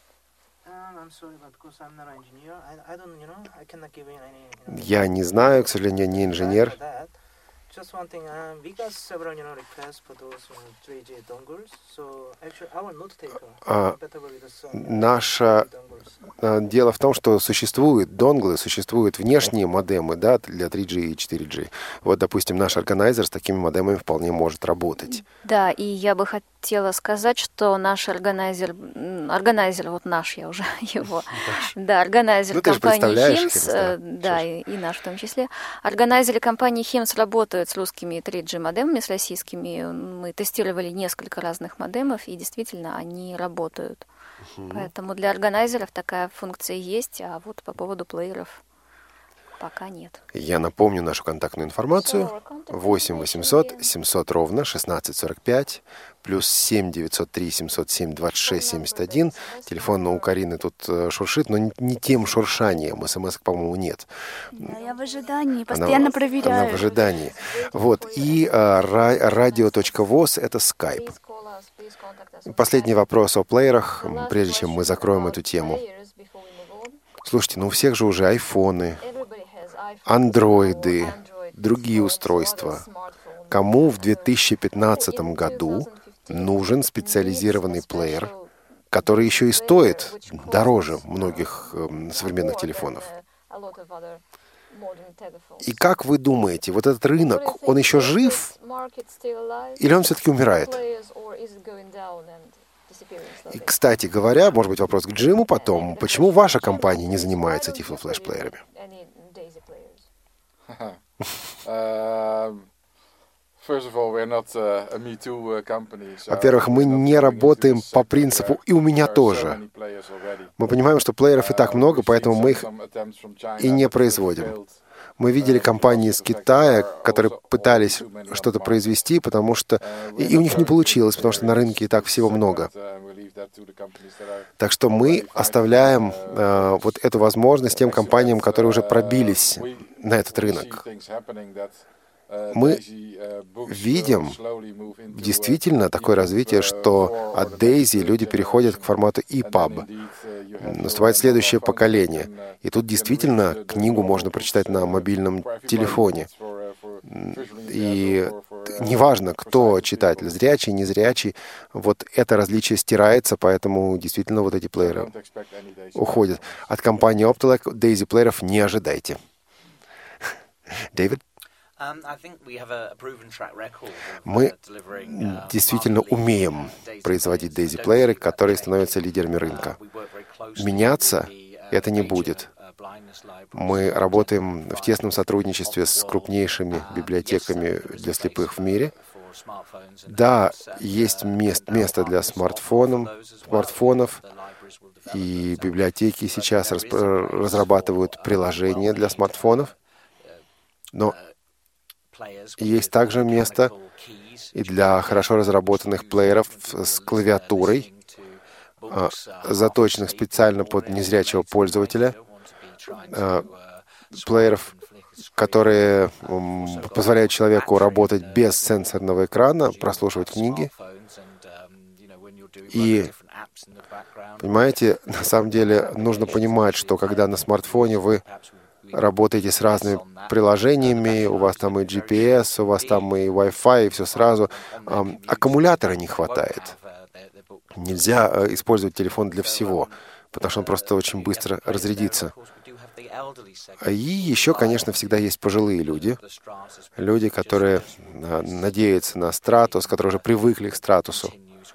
Я не знаю, к сожалению, не инженер. Just one thing, we got several requests for those 3G dongles. So actually, our note taker compatible with Наше дело в том, что существуют донглы, существуют внешние модемы, да, для 3G и 4G. Вот, допустим, наш органайзер с такими модемами вполне может работать. Да, и я бы хотела сказать, что наш органайзер вот наш, я уже его, да, органайзер компании HIMS, да, и наш в том числе. Органайзеры компании HIMS работают с русскими 3G-модемами, с российскими. Мы тестировали несколько разных модемов, и действительно они работают. Поэтому для органайзеров такая функция есть, а вот по поводу плееров пока нет. Я напомню нашу контактную информацию. 8 800 700 ровно 1645, плюс 7 903 707 26 71. Телефон у Карины тут шуршит, но не тем шуршанием. СМС, по-моему, нет. Да, я в ожидании, постоянно проверяю. Она в ожидании. Вот. И radio.voz — это Skype. Последний вопрос о плеерах, прежде чем мы закроем эту тему. Слушайте, у всех же уже айфоны, андроиды, другие устройства. Кому в 2015 году нужен специализированный плеер, который еще и стоит дороже многих современных телефонов? И как вы думаете, вот этот рынок, он еще жив или он все-таки умирает? И, кстати говоря, может быть, вопрос к Джиму потом. Почему ваша компания не занимается Tiflo Flash-плеерами? Во-первых, мы не работаем по принципу «и у меня тоже». Мы понимаем, что плееров и так много, поэтому мы их и не производим. Мы видели компании из Китая, которые пытались что-то произвести, потому что и у них не получилось, потому что на рынке и так всего много. Так что мы оставляем вот эту возможность тем компаниям, которые уже пробились на этот рынок. Мы видим действительно такое развитие, что от Daisy люди переходят к формату EPUB. Наступает следующее поколение. И тут действительно книгу можно прочитать на мобильном телефоне. И неважно, кто читатель, зрячий, незрячий, вот это различие стирается, поэтому действительно вот эти плееры уходят. От компании Optelec Daisy плееров не ожидайте. Дэвид? Мы действительно умеем производить Daisy-плееры, которые становятся лидерами рынка. Меняться это не будет. Мы работаем в тесном сотрудничестве с крупнейшими библиотеками для слепых в мире. Да, есть место для смартфонов, и библиотеки сейчас разрабатывают приложения для смартфонов, но есть также место и для хорошо разработанных плееров с клавиатурой, заточенных специально под незрячего пользователя, плееров, которые позволяют человеку работать без сенсорного экрана, прослушивать книги. И, понимаете, на самом деле нужно понимать, что когда на смартфоне вы работаете с разными приложениями, у вас там и GPS, у вас там и Wi-Fi, и все сразу, аккумулятора не хватает. Нельзя использовать телефон для всего, потому что он просто очень быстро разрядится. И еще, конечно, всегда есть пожилые люди, которые надеются на статус, которые уже привыкли к статусу.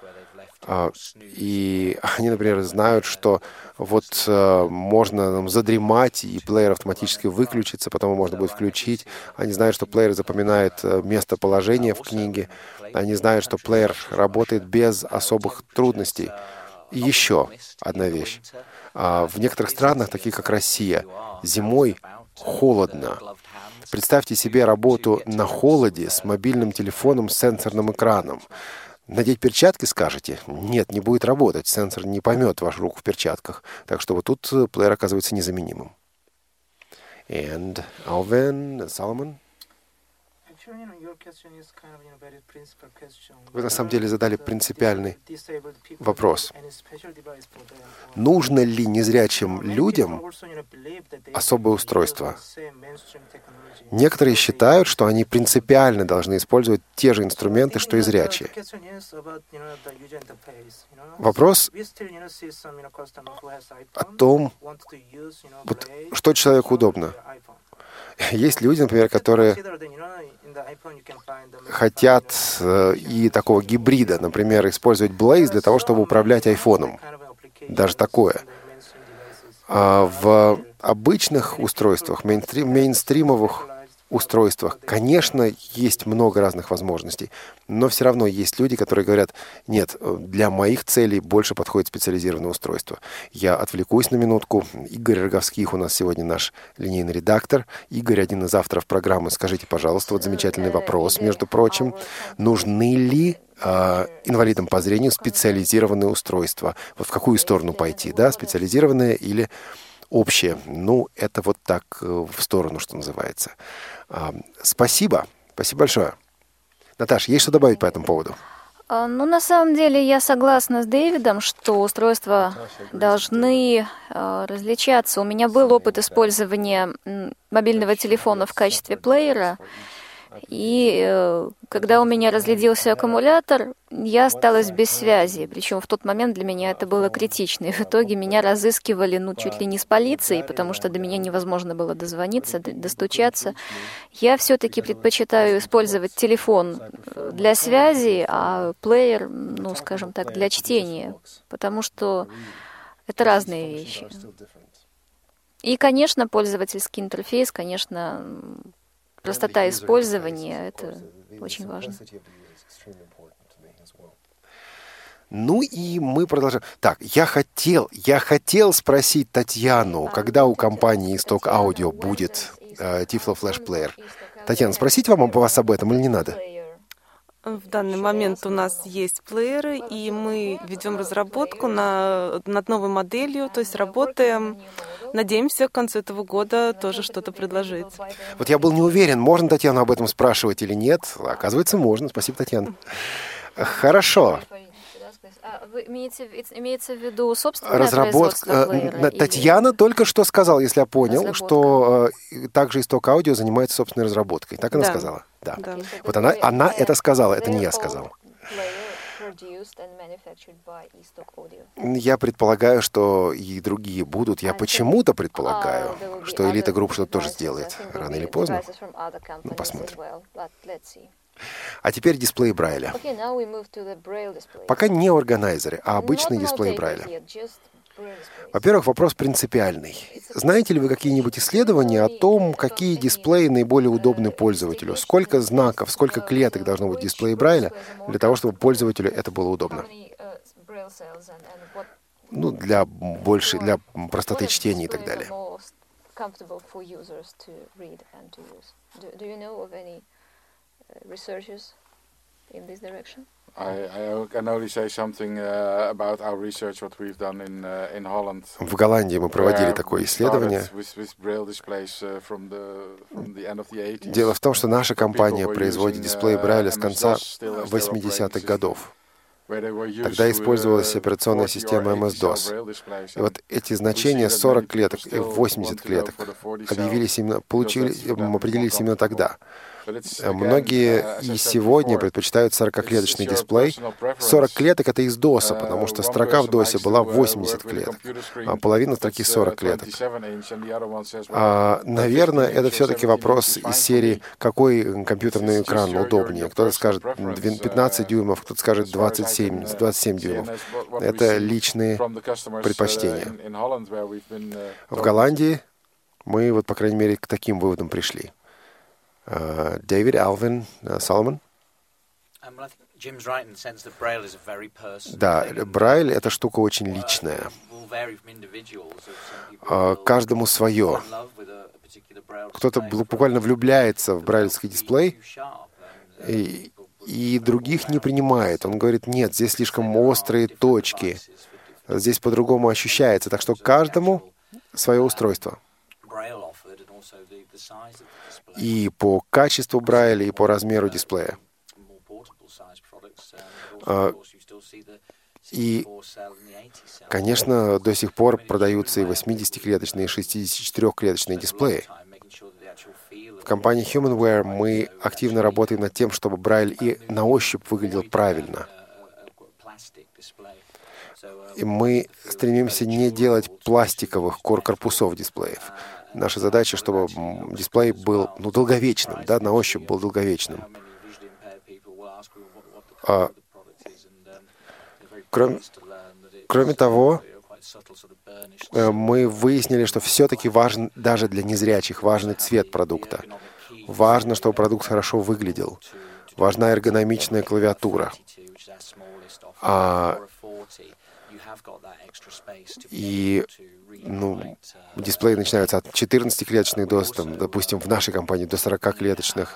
И они, например, знают, что вот можно задремать, и плеер автоматически выключится, потом можно будет включить. Они знают, что плеер запоминает местоположение в книге. Они знают, что плеер работает без особых трудностей. И еще одна вещь. В некоторых странах, таких как Россия, зимой холодно. Представьте себе работу на холоде с мобильным телефоном с сенсорным экраном. Надеть перчатки, скажете? Нет, не будет работать. Сенсор не поймет вашу руку в перчатках. Так что вот тут плеер оказывается незаменимым. And Alvin, Solomon? Вы на самом деле задали принципиальный вопрос. Нужно ли незрячим людям особое устройство? Некоторые считают, что они принципиально должны использовать те же инструменты, что и зрячие. Вопрос о том, вот, что человеку удобно. Есть люди, например, которые хотят и такого гибрида, например, использовать Blaze для того, чтобы управлять айфоном. Даже такое. В обычных устройствах, мейнстримовых устройствах, конечно, есть много разных возможностей, но все равно есть люди, которые говорят, нет, для моих целей больше подходит специализированное устройство. Я отвлекусь на минутку. Игорь Роговских у нас сегодня наш линейный редактор. Игорь, один из авторов программы. Скажите, пожалуйста, вот замечательный вопрос, между прочим. Нужны ли инвалидам по зрению специализированные устройства? Вот в какую сторону пойти, да, специализированное или общее? Ну, это вот так в сторону, что называется. Спасибо. Спасибо большое. Наташа, есть что добавить по этому поводу? Ну, на самом деле, я согласна с Дэвидом, что устройства должны различаться. У меня был опыт использования мобильного телефона в качестве плеера, и когда у меня разрядился аккумулятор, я осталась без связи. Причем в тот момент для меня это было критично. И в итоге меня разыскивали, чуть ли не с полицией, потому что до меня невозможно было дозвониться, достучаться. Я все-таки предпочитаю использовать телефон для связи, а плеер, скажем так, для чтения, потому что это разные вещи. И, конечно, пользовательский интерфейс, конечно, простота использования — это очень важно. Ну и мы продолжаем. Так, я хотел спросить Татьяну, когда у компании Исток Аудио будет Tiflo Flash Player. Татьяна, спросить вас об этом или не надо? В данный момент у нас есть плееры, и мы ведем разработку над новой моделью, то есть работаем. Надеемся, к концу этого года тоже что-то предложить. Вот я был не уверен, можно Татьяну об этом спрашивать или нет. Оказывается, можно. Спасибо, Татьяна. Хорошо. Имеется в виду собственное производство плеера? Татьяна только что сказала, если я понял, что также Исток Аудио занимается собственной разработкой. Так она сказала? Да. Вот она это сказала, это не я сказал. Я предполагаю, что и другие будут. Я почему-то предполагаю, что Элита Групп что-то тоже сделает. Рано или поздно. Ну, посмотрим. А теперь дисплей Брайля. Пока не органайзеры, а обычный дисплей Брайля. Во-первых, вопрос принципиальный. Знаете ли вы какие-нибудь исследования о том, какие дисплеи наиболее удобны пользователю? Сколько знаков, сколько клеток должно быть в дисплее Брайля для того, чтобы пользователю это было удобно? Ну, для простоты чтения и так далее. I can only say something about our research, what we've done in Holland. В Голландии мы проводили такое исследование. Дело в том, что наша компания производит дисплеи Брайля с конца 80-х годов. Тогда использовалась операционная система MS-DOS. И вот эти значения 40 клеток и 80 клеток определились именно тогда. Многие и сегодня предпочитают 40-клеточный дисплей. 40 клеток — это из DOS, потому что строка в DOS была 80 клеток, а половина строки 40 клеток. Наверное, это все-таки вопрос из серии, какой компьютерный экран удобнее. Кто-то скажет 15 дюймов, кто-то скажет 27 дюймов. Это личные предпочтения. В Голландии мы, вот, по крайней мере, к таким выводам пришли. David, Alvin, Solomon? Да, Брайль — это штука очень личная. Каждому свое. Кто-то буквально влюбляется в брайлевский дисплей и других не принимает. Он говорит: нет, здесь слишком острые точки, здесь по-другому ощущается. Так что каждому свое устройство. И по качеству Брайля, и по размеру дисплея. И, конечно, до сих пор продаются и 80-клеточные, и 64-клеточные дисплеи. В компании HumanWare мы активно работаем над тем, чтобы Брайль и на ощупь выглядел правильно. И мы стремимся не делать пластиковых корпусов дисплеев. Наша задача, чтобы дисплей был долговечным, да, на ощупь был долговечным. Кроме того, мы выяснили, что все-таки важен, даже для незрячих, важный цвет продукта. Важно, чтобы продукт хорошо выглядел. Важна эргономичная клавиатура. И дисплеи начинаются от 14-клеточных до, допустим, в нашей компании до 40-клеточных.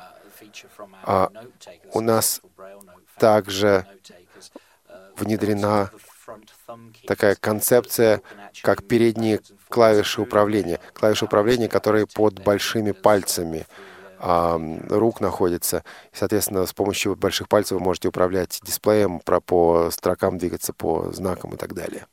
У нас также внедрена такая концепция, как передние клавиши управления. Клавиши управления, которые под большими пальцами рук находятся. И, соответственно, с помощью больших пальцев вы можете управлять дисплеем, по строкам двигаться, по знакам и так далее.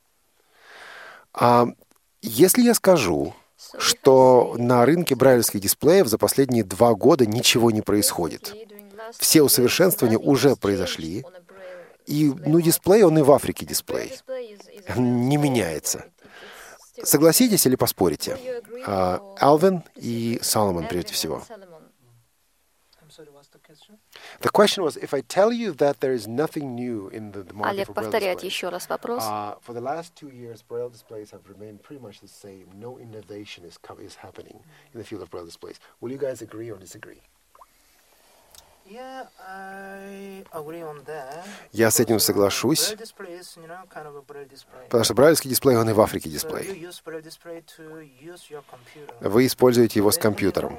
Если я скажу, что на рынке брайлевских дисплеев за последние 2 года ничего не происходит, все усовершенствования уже произошли, и дисплей, он и в Африке дисплей, не меняется. Согласитесь или поспорите? Алвин и Соломон, прежде всего. Олег повторяет еще раз вопрос. Я с этим соглашусь, потому что брайлевский дисплей, он и в Африке дисплей. Вы используете его с компьютером.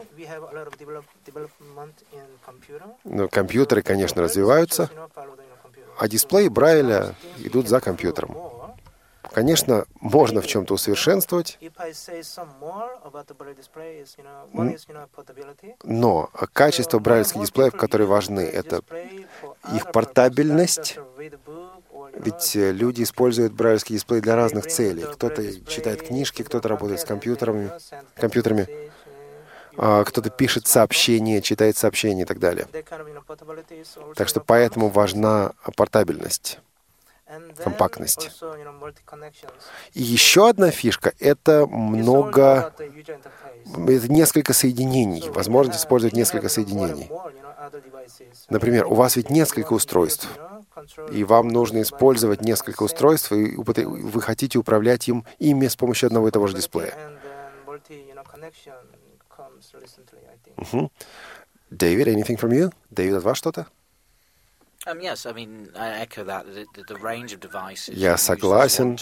Но компьютеры, конечно, развиваются, а дисплеи Брайля идут за компьютером. Конечно, можно в чем-то усовершенствовать, но качество брайлевских дисплеев, которые важны, это их портабельность. Ведь люди используют брайлевский дисплей для разных целей. Кто-то читает книжки, кто-то работает с компьютерами, кто-то пишет сообщения, читает сообщения и так далее. Так что поэтому важна портабельность, компактность. И еще одна фишка — это несколько соединений, возможность использовать несколько соединений. Например, у вас ведь несколько устройств. и вам нужно использовать несколько устройств, и вы хотите управлять ими с помощью одного и того же дисплея. David, anything from you? David, от вас что-то? Я согласен,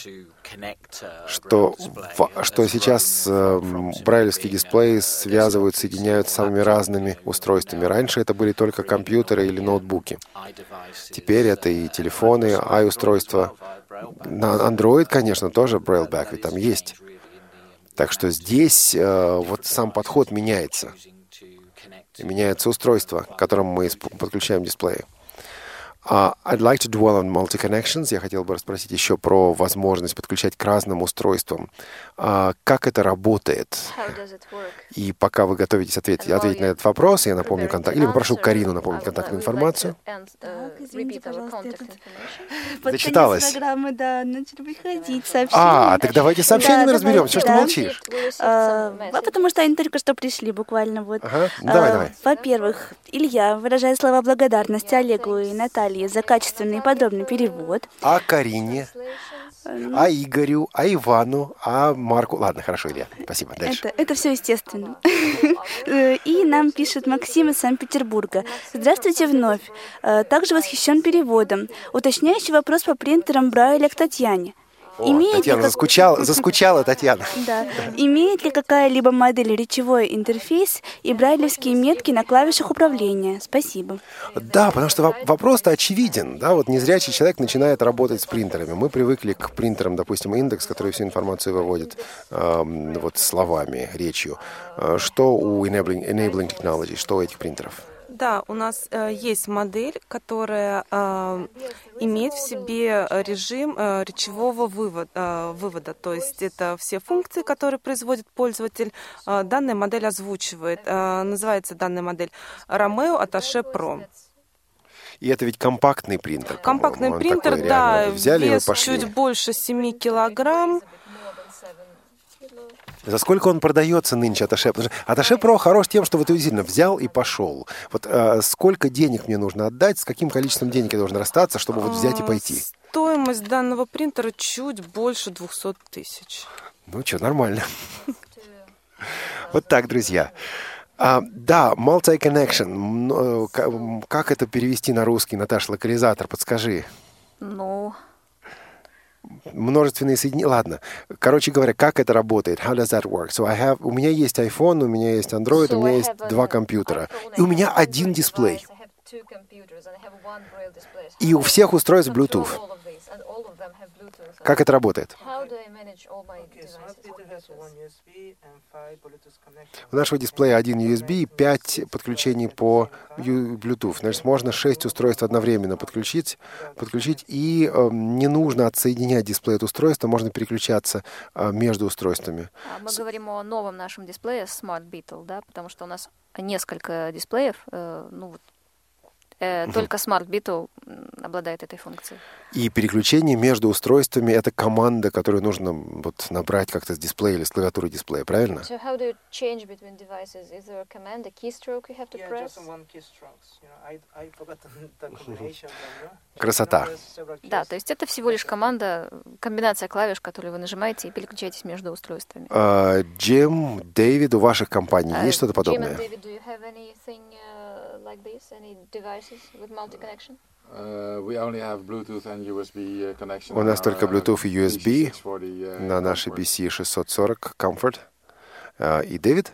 что сейчас брайлевские дисплеи связывают, соединяют с самыми разными устройствами. Раньше это были только компьютеры или ноутбуки. Теперь это и телефоны, i-устройства. На Android, конечно, тоже Braille-back, ведь там есть. Так что здесь вот сам подход меняется. Меняется устройство, к которому мы подключаем дисплеи. I'd like to dwell on multi-connections. Я хотел бы расспросить еще про возможность подключать к разным устройствам. Как это работает? И пока вы готовитесь ответить на этот вопрос, я напомню контакт, или попрошу Карину напомнить контактную информацию. Извините, пожалуйста, Зачиталась. Программы, да, начали приходить сообщения. Так давайте сообщениями разберем. Что ж ты молчишь? Потому что они только что пришли, буквально вот. Давай. Во-первых, Илья выражает слова благодарности Олегу и Наталье за качественный и подробный перевод. А Карине, а Игорю, а Ивану, а Марку. Ладно, хорошо, Илья. Спасибо. Дальше. Это все естественно. И нам пишет Максим из Санкт-Петербурга. Здравствуйте вновь. Также восхищен переводом. Уточняющий вопрос по принтерам Брайля к Татьяне. Татьяна заскучала Татьяна. Да. Имеет ли какая-либо модель речевой интерфейс и брайлевские метки на клавишах управления? Спасибо. Да, потому что вопрос-то очевиден. Да? Вот незрячий человек начинает работать с принтерами. Мы привыкли к принтерам, допустим, индекс, который всю информацию выводит вот словами, речью. Что у Enabling Technology, что у этих принтеров? Да, у нас есть модель, которая имеет в себе режим речевого вывода. То есть это все функции, которые производит пользователь, данная модель озвучивает. Называется данная модель Romeo Attaché Pro. И это ведь компактный принтер. Компактный принтер, такой, да, вес чуть больше 7 килограмм. За сколько он продается нынче, Attaché? Потому что Attaché Pro хорош тем, что вот действительно взял и пошел. Вот сколько денег мне нужно отдать, с каким количеством денег я должен расстаться, чтобы вот взять и пойти? Стоимость данного принтера чуть больше 200 тысяч. Ну что, нормально. Вот так, друзья. Да, multi-connection. Как это перевести на русский, Наташа, локализатор, подскажи. Множественные соединения. Ладно. Короче говоря, как это работает? How does that work? У меня есть iPhone, у меня есть Android, у меня есть 2 компьютера. И у меня один дисплей. И у всех устройств Bluetooth. Как это работает? У нашего дисплея 1 USB и 5 подключений по Bluetooth. Значит, можно 6 устройств одновременно подключить, и не нужно отсоединять дисплей от устройства, можно переключаться между устройствами. Мы говорим о новом нашем дисплее Smart Beetle, да, потому что у нас несколько дисплеев, только Smart Beetle обладает этой функцией. И переключение между устройствами — это команда, которую нужно вот набрать как-то с дисплея или с клавиатуры дисплея, правильно? So how do you change between devices? Is there a command, a keystroke you have to press? Just one keystroke. I forgot the combination. Красота. Да, то есть это всего лишь комбинация клавиш, которые вы нажимаете и переключаетесь между устройствами. Джим, Дэвид, у ваших компаний есть что-то подобное? Jim and David, do you have anything like this? Any devices with multi-connection? We only have Bluetooth and USB connection. У нас только Bluetooth и USB на нашей BC640 Comfort. И Дэвид?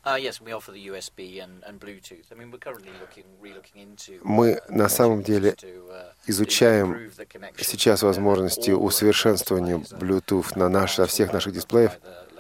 Мы на самом деле изучаем сейчас возможности усовершенствования Bluetooth на всех наших дисплеях.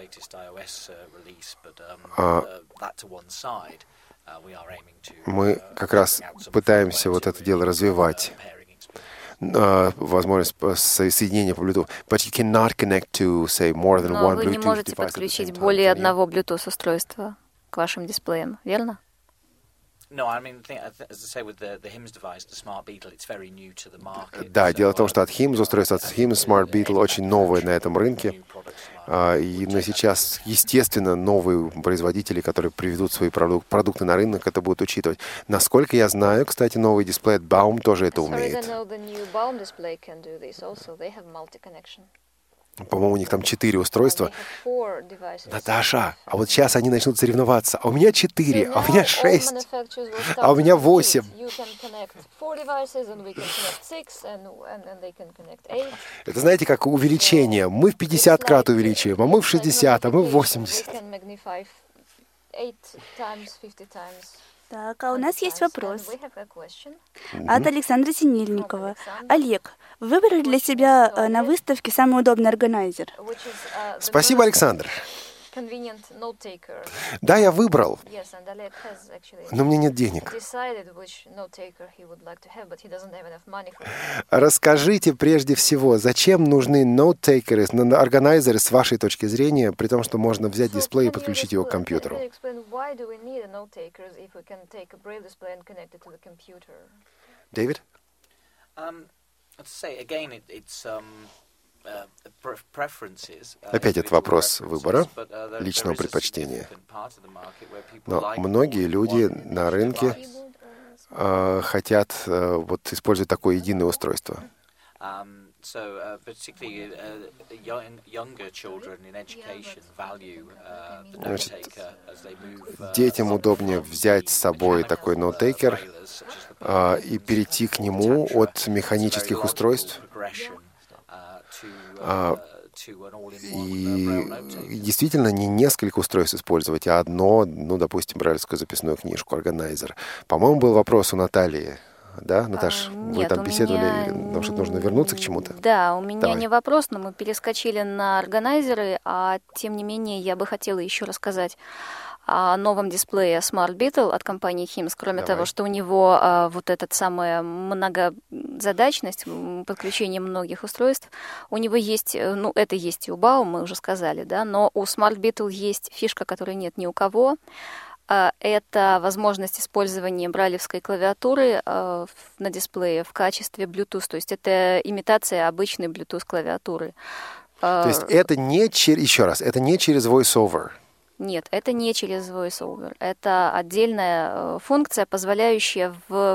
Мы как раз пытаемся вот это дело развивать, возможность соединения по Bluetooth. But you cannot connect to, say, more than one Bluetooth device. Но вы не можете подключить более одного Bluetooth устройства к вашим дисплеям, верно? Да, дело в том, что от HIMS, устройство от HIMS Smart Beetle очень новое на этом рынке. Но сейчас, естественно, новые производители, которые приведут свои продукты на рынок, это будут учитывать. Насколько я знаю, кстати, новый дисплей от Baum тоже это умеет. По-моему, у них там 4 устройства. Наташа, а вот сейчас они начнут соревноваться. А у меня 4, а у меня 6, а у меня 8. Это, знаете, как увеличение. Мы в 50 крат увеличиваем, а мы в 60, а мы в 80. Так, а у нас есть вопрос от Александра Синельникова. Олег, выбрали для себя на выставке самый удобный органайзер? Спасибо, Александр. Да, я выбрал, но мне нет денег. Расскажите прежде всего, зачем нужны ноут-тейкеры, органайзеры с вашей точки зрения, при том, что можно взять дисплей и подключить его к компьютеру? Дэвид? Опять это вопрос выбора, личного предпочтения. Но многие люди на рынке хотят использовать такое единое устройство. Значит, детям удобнее взять с собой такой ноут-тейкер и перейти к нему от механических устройств. И действительно не несколько устройств использовать, а одно, допустим, брайлевскую записную книжку, органайзер. По-моему, был вопрос у Натальи. Да, Наташ, вы там беседовали, потому что нужно вернуться к чему-то? Да, у меня не вопрос, но мы перескочили на органайзеры, а тем не менее я бы хотела еще рассказать о новом дисплее Smart Beetle от компании HIMS, кроме того, что у него вот эта самая многозадачность, подключение многих устройств, у него есть, это есть и у Baum, мы уже сказали, да, но у Smart Beetle есть фишка, которой нет ни у кого. Это возможность использования брайлевской клавиатуры на дисплее в качестве Bluetooth, то есть это имитация обычной Bluetooth клавиатуры. То есть это не это не через VoiceOver? Нет, это не через VoiceOver. Это отдельная функция, позволяющая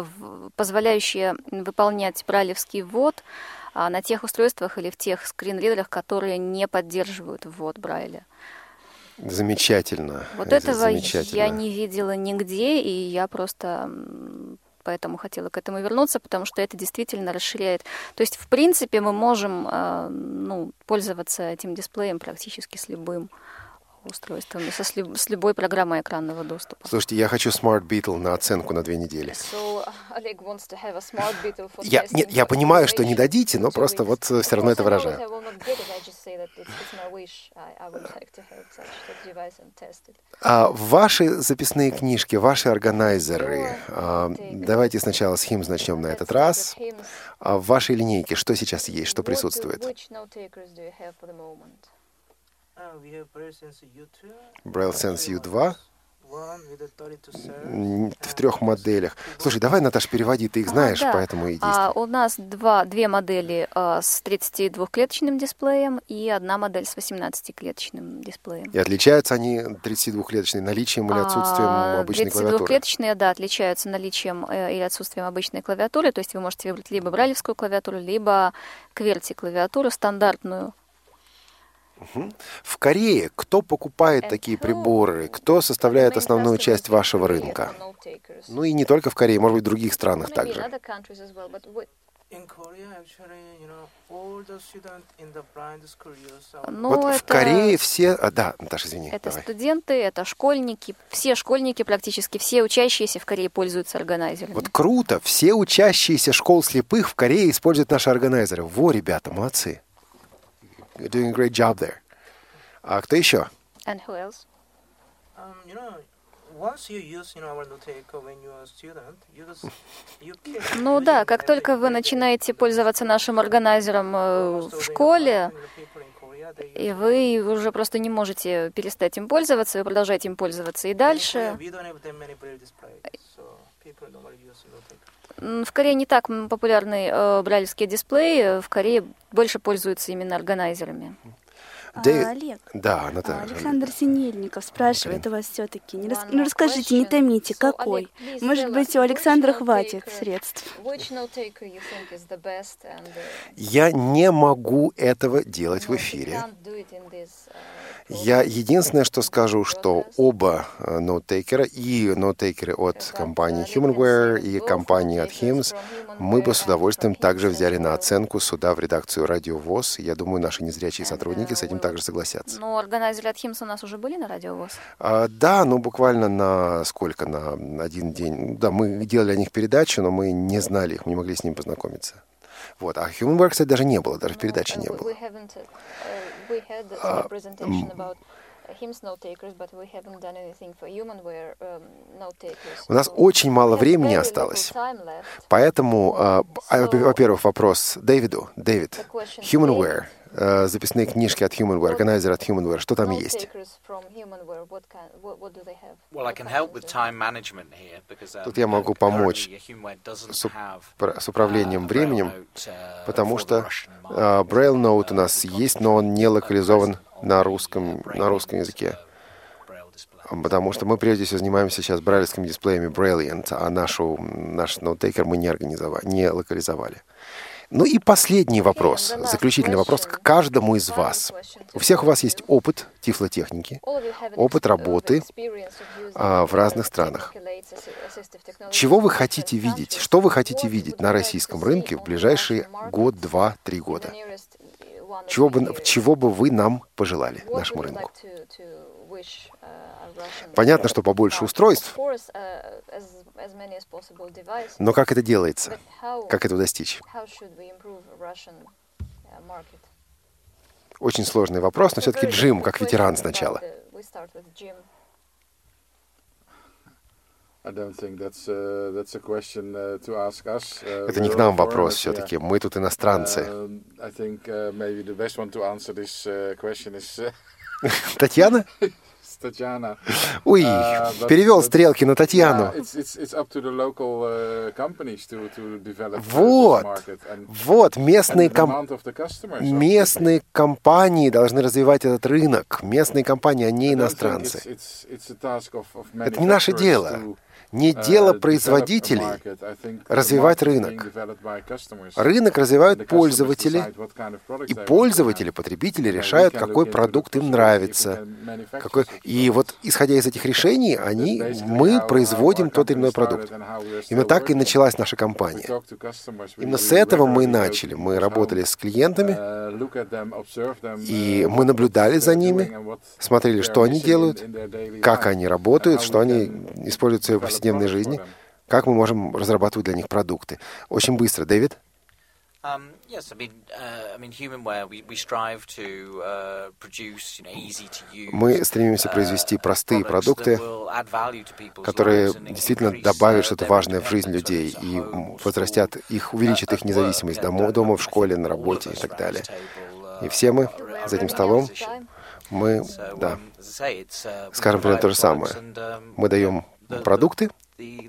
выполнять брайлевский ввод на тех устройствах или в тех скринридерах, которые не поддерживают ввод Брайля. Замечательно. Вот этого я не видела нигде, и я просто поэтому хотела к этому вернуться, потому что это действительно расширяет. То есть, в принципе, мы можем пользоваться этим дисплеем практически с любым устройством, с любой программой экранного доступа. Слушайте, я хочу Smart Beetle на оценку на 2 недели. Я понимаю, что не дадите, но просто все равно это выражаю. Ваши записные книжки, ваши органайзеры, давайте сначала с HIMS начнем на этот раз. В вашей линейке что сейчас есть, что присутствует? BrailleSense U2 в 3 моделях. Слушай, давай, Наташа, переводи, ты их знаешь, поэтому и действуй. У нас 2 модели с 32-клеточным дисплеем и 1 модель с 18-клеточным дисплеем. И отличаются они 32-клеточные наличием или отсутствием обычной клавиатуры? 32-клеточные, да, отличаются наличием или отсутствием обычной клавиатуры, то есть вы можете выбрать либо брайлевскую клавиатуру, либо QWERTY-клавиатуру стандартную. В Корее кто покупает такие приборы? Кто составляет основную часть вашего рынка? Ну и не только в Корее, может быть, в других странах также. В Корее все... Да, Наташа, извини. Это студенты, это школьники. Все школьники, практически все учащиеся в Корее пользуются органайзерами. Вот круто! Все учащиеся школ слепых в Корее используют наши органайзеры. Во, ребята, молодцы. You're doing a great job there. А кто еще? And who else? Ну да, как только вы начинаете пользоваться нашим органайзером в школе, и вы уже просто не можете перестать им пользоваться, вы продолжаете им пользоваться и дальше. В Корее не так популярны брайлевские дисплеи, в Корее больше пользуются именно органайзерами. Олег, да, Александр Синельников спрашивает у вас все-таки. Расскажите, не томите, какой? Может быть, у Александра хватит средств? Я не могу этого делать в эфире. Я единственное, что скажу, что оба ноутейкера, и ноутейкеры от компании HumanWare, и компании от HIMSS, мы бы с удовольствием также взяли на оценку сюда, в редакцию Радио ВОС. Я думаю, наши незрячие сотрудники с этим также согласятся. Но органайзеры от HIMSS у нас уже были на Радио ВОС? Да, буквально на сколько? На один день. Да, мы делали о них передачу, но мы не знали их, не могли с ними познакомиться. Вот. А HumanWare, кстати, даже не было, даже в передаче не было. У нас очень мало времени осталось, поэтому, во-первых, вопрос Дэвиду. Дэвид, HumanWare, записные книжки от HumanWare, органайзер от HumanWare, что там есть? Тут я могу помочь с управлением временем, потому что Braille Note у нас есть, но он не локализован на русском языке. Потому что мы прежде всего занимаемся сейчас брайлевскими дисплеями Brailliant, а наш ноутейкер мы не локализовали. Ну и последний вопрос, заключительный вопрос к каждому из вас. У всех у вас есть опыт тифлотехники, опыт работы в разных странах. Чего вы хотите видеть? Что вы хотите видеть на российском рынке в ближайшие год, 2, 3 года? Чего бы вы нам пожелали, нашему рынку? Понятно, что побольше устройств, но как это делается? Как этого достичь? Очень сложный вопрос, но все-таки Джим, как ветеран сначала. Это не к нам вопрос все-таки, мы тут иностранцы. Татьяна? Ой, перевел стрелки на Татьяну. Вот, местные компании должны развивать этот рынок. Местные компании, а не иностранцы. Это не наше дело. Не дело производителей развивать рынок. Рынок развивают пользователи, и пользователи, потребители решают, какой продукт им нравится. И вот, исходя из этих решений, мы производим тот или иной продукт. Именно так и началась наша компания. Именно с этого мы и начали. Мы работали с клиентами, и мы наблюдали за ними, смотрели, что они делают, как они работают, что они используют в своей повседневной жизни, как мы можем разрабатывать для них продукты. Очень быстро. Дэвид? Мы стремимся произвести простые продукты, которые действительно добавят что-то важное в жизнь людей и увеличат их независимость дома, в школе, на работе и так далее. И все мы за этим столом, мы скажем примерно то же самое. Мы даем продукты, и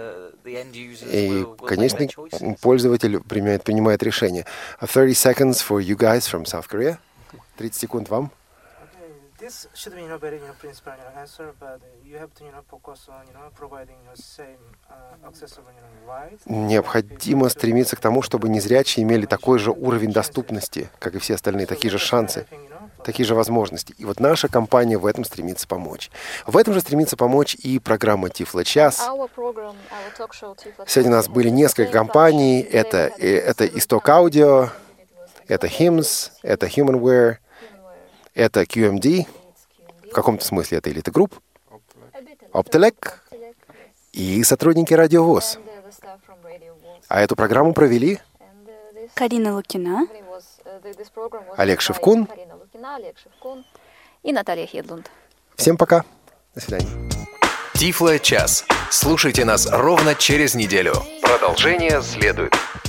конечный пользователь принимает решение. 30 seconds for you guys from South Korea. 30 секунд вам. This should be very principal answer, but you have to focus on providing the same accessible right. Необходимо стремиться к тому, чтобы незрячие имели такой же уровень доступности, как и все остальные, такие же шансы, такие же возможности. И вот наша компания в этом стремится помочь. В этом же стремится помочь и программа Тифло-час. Сегодня у нас были несколько компаний. Это Исток Аудио, это HIMSS, это HumanWare, это QMD, в каком-то смысле это Elite Group, Optelec и сотрудники Радио ВОС. А эту программу провели Карина Лукина, Олег Шевкун и Наталья Хедлунд. Всем пока. До свидания. Тифло-час. Слушайте нас ровно через неделю. Продолжение следует.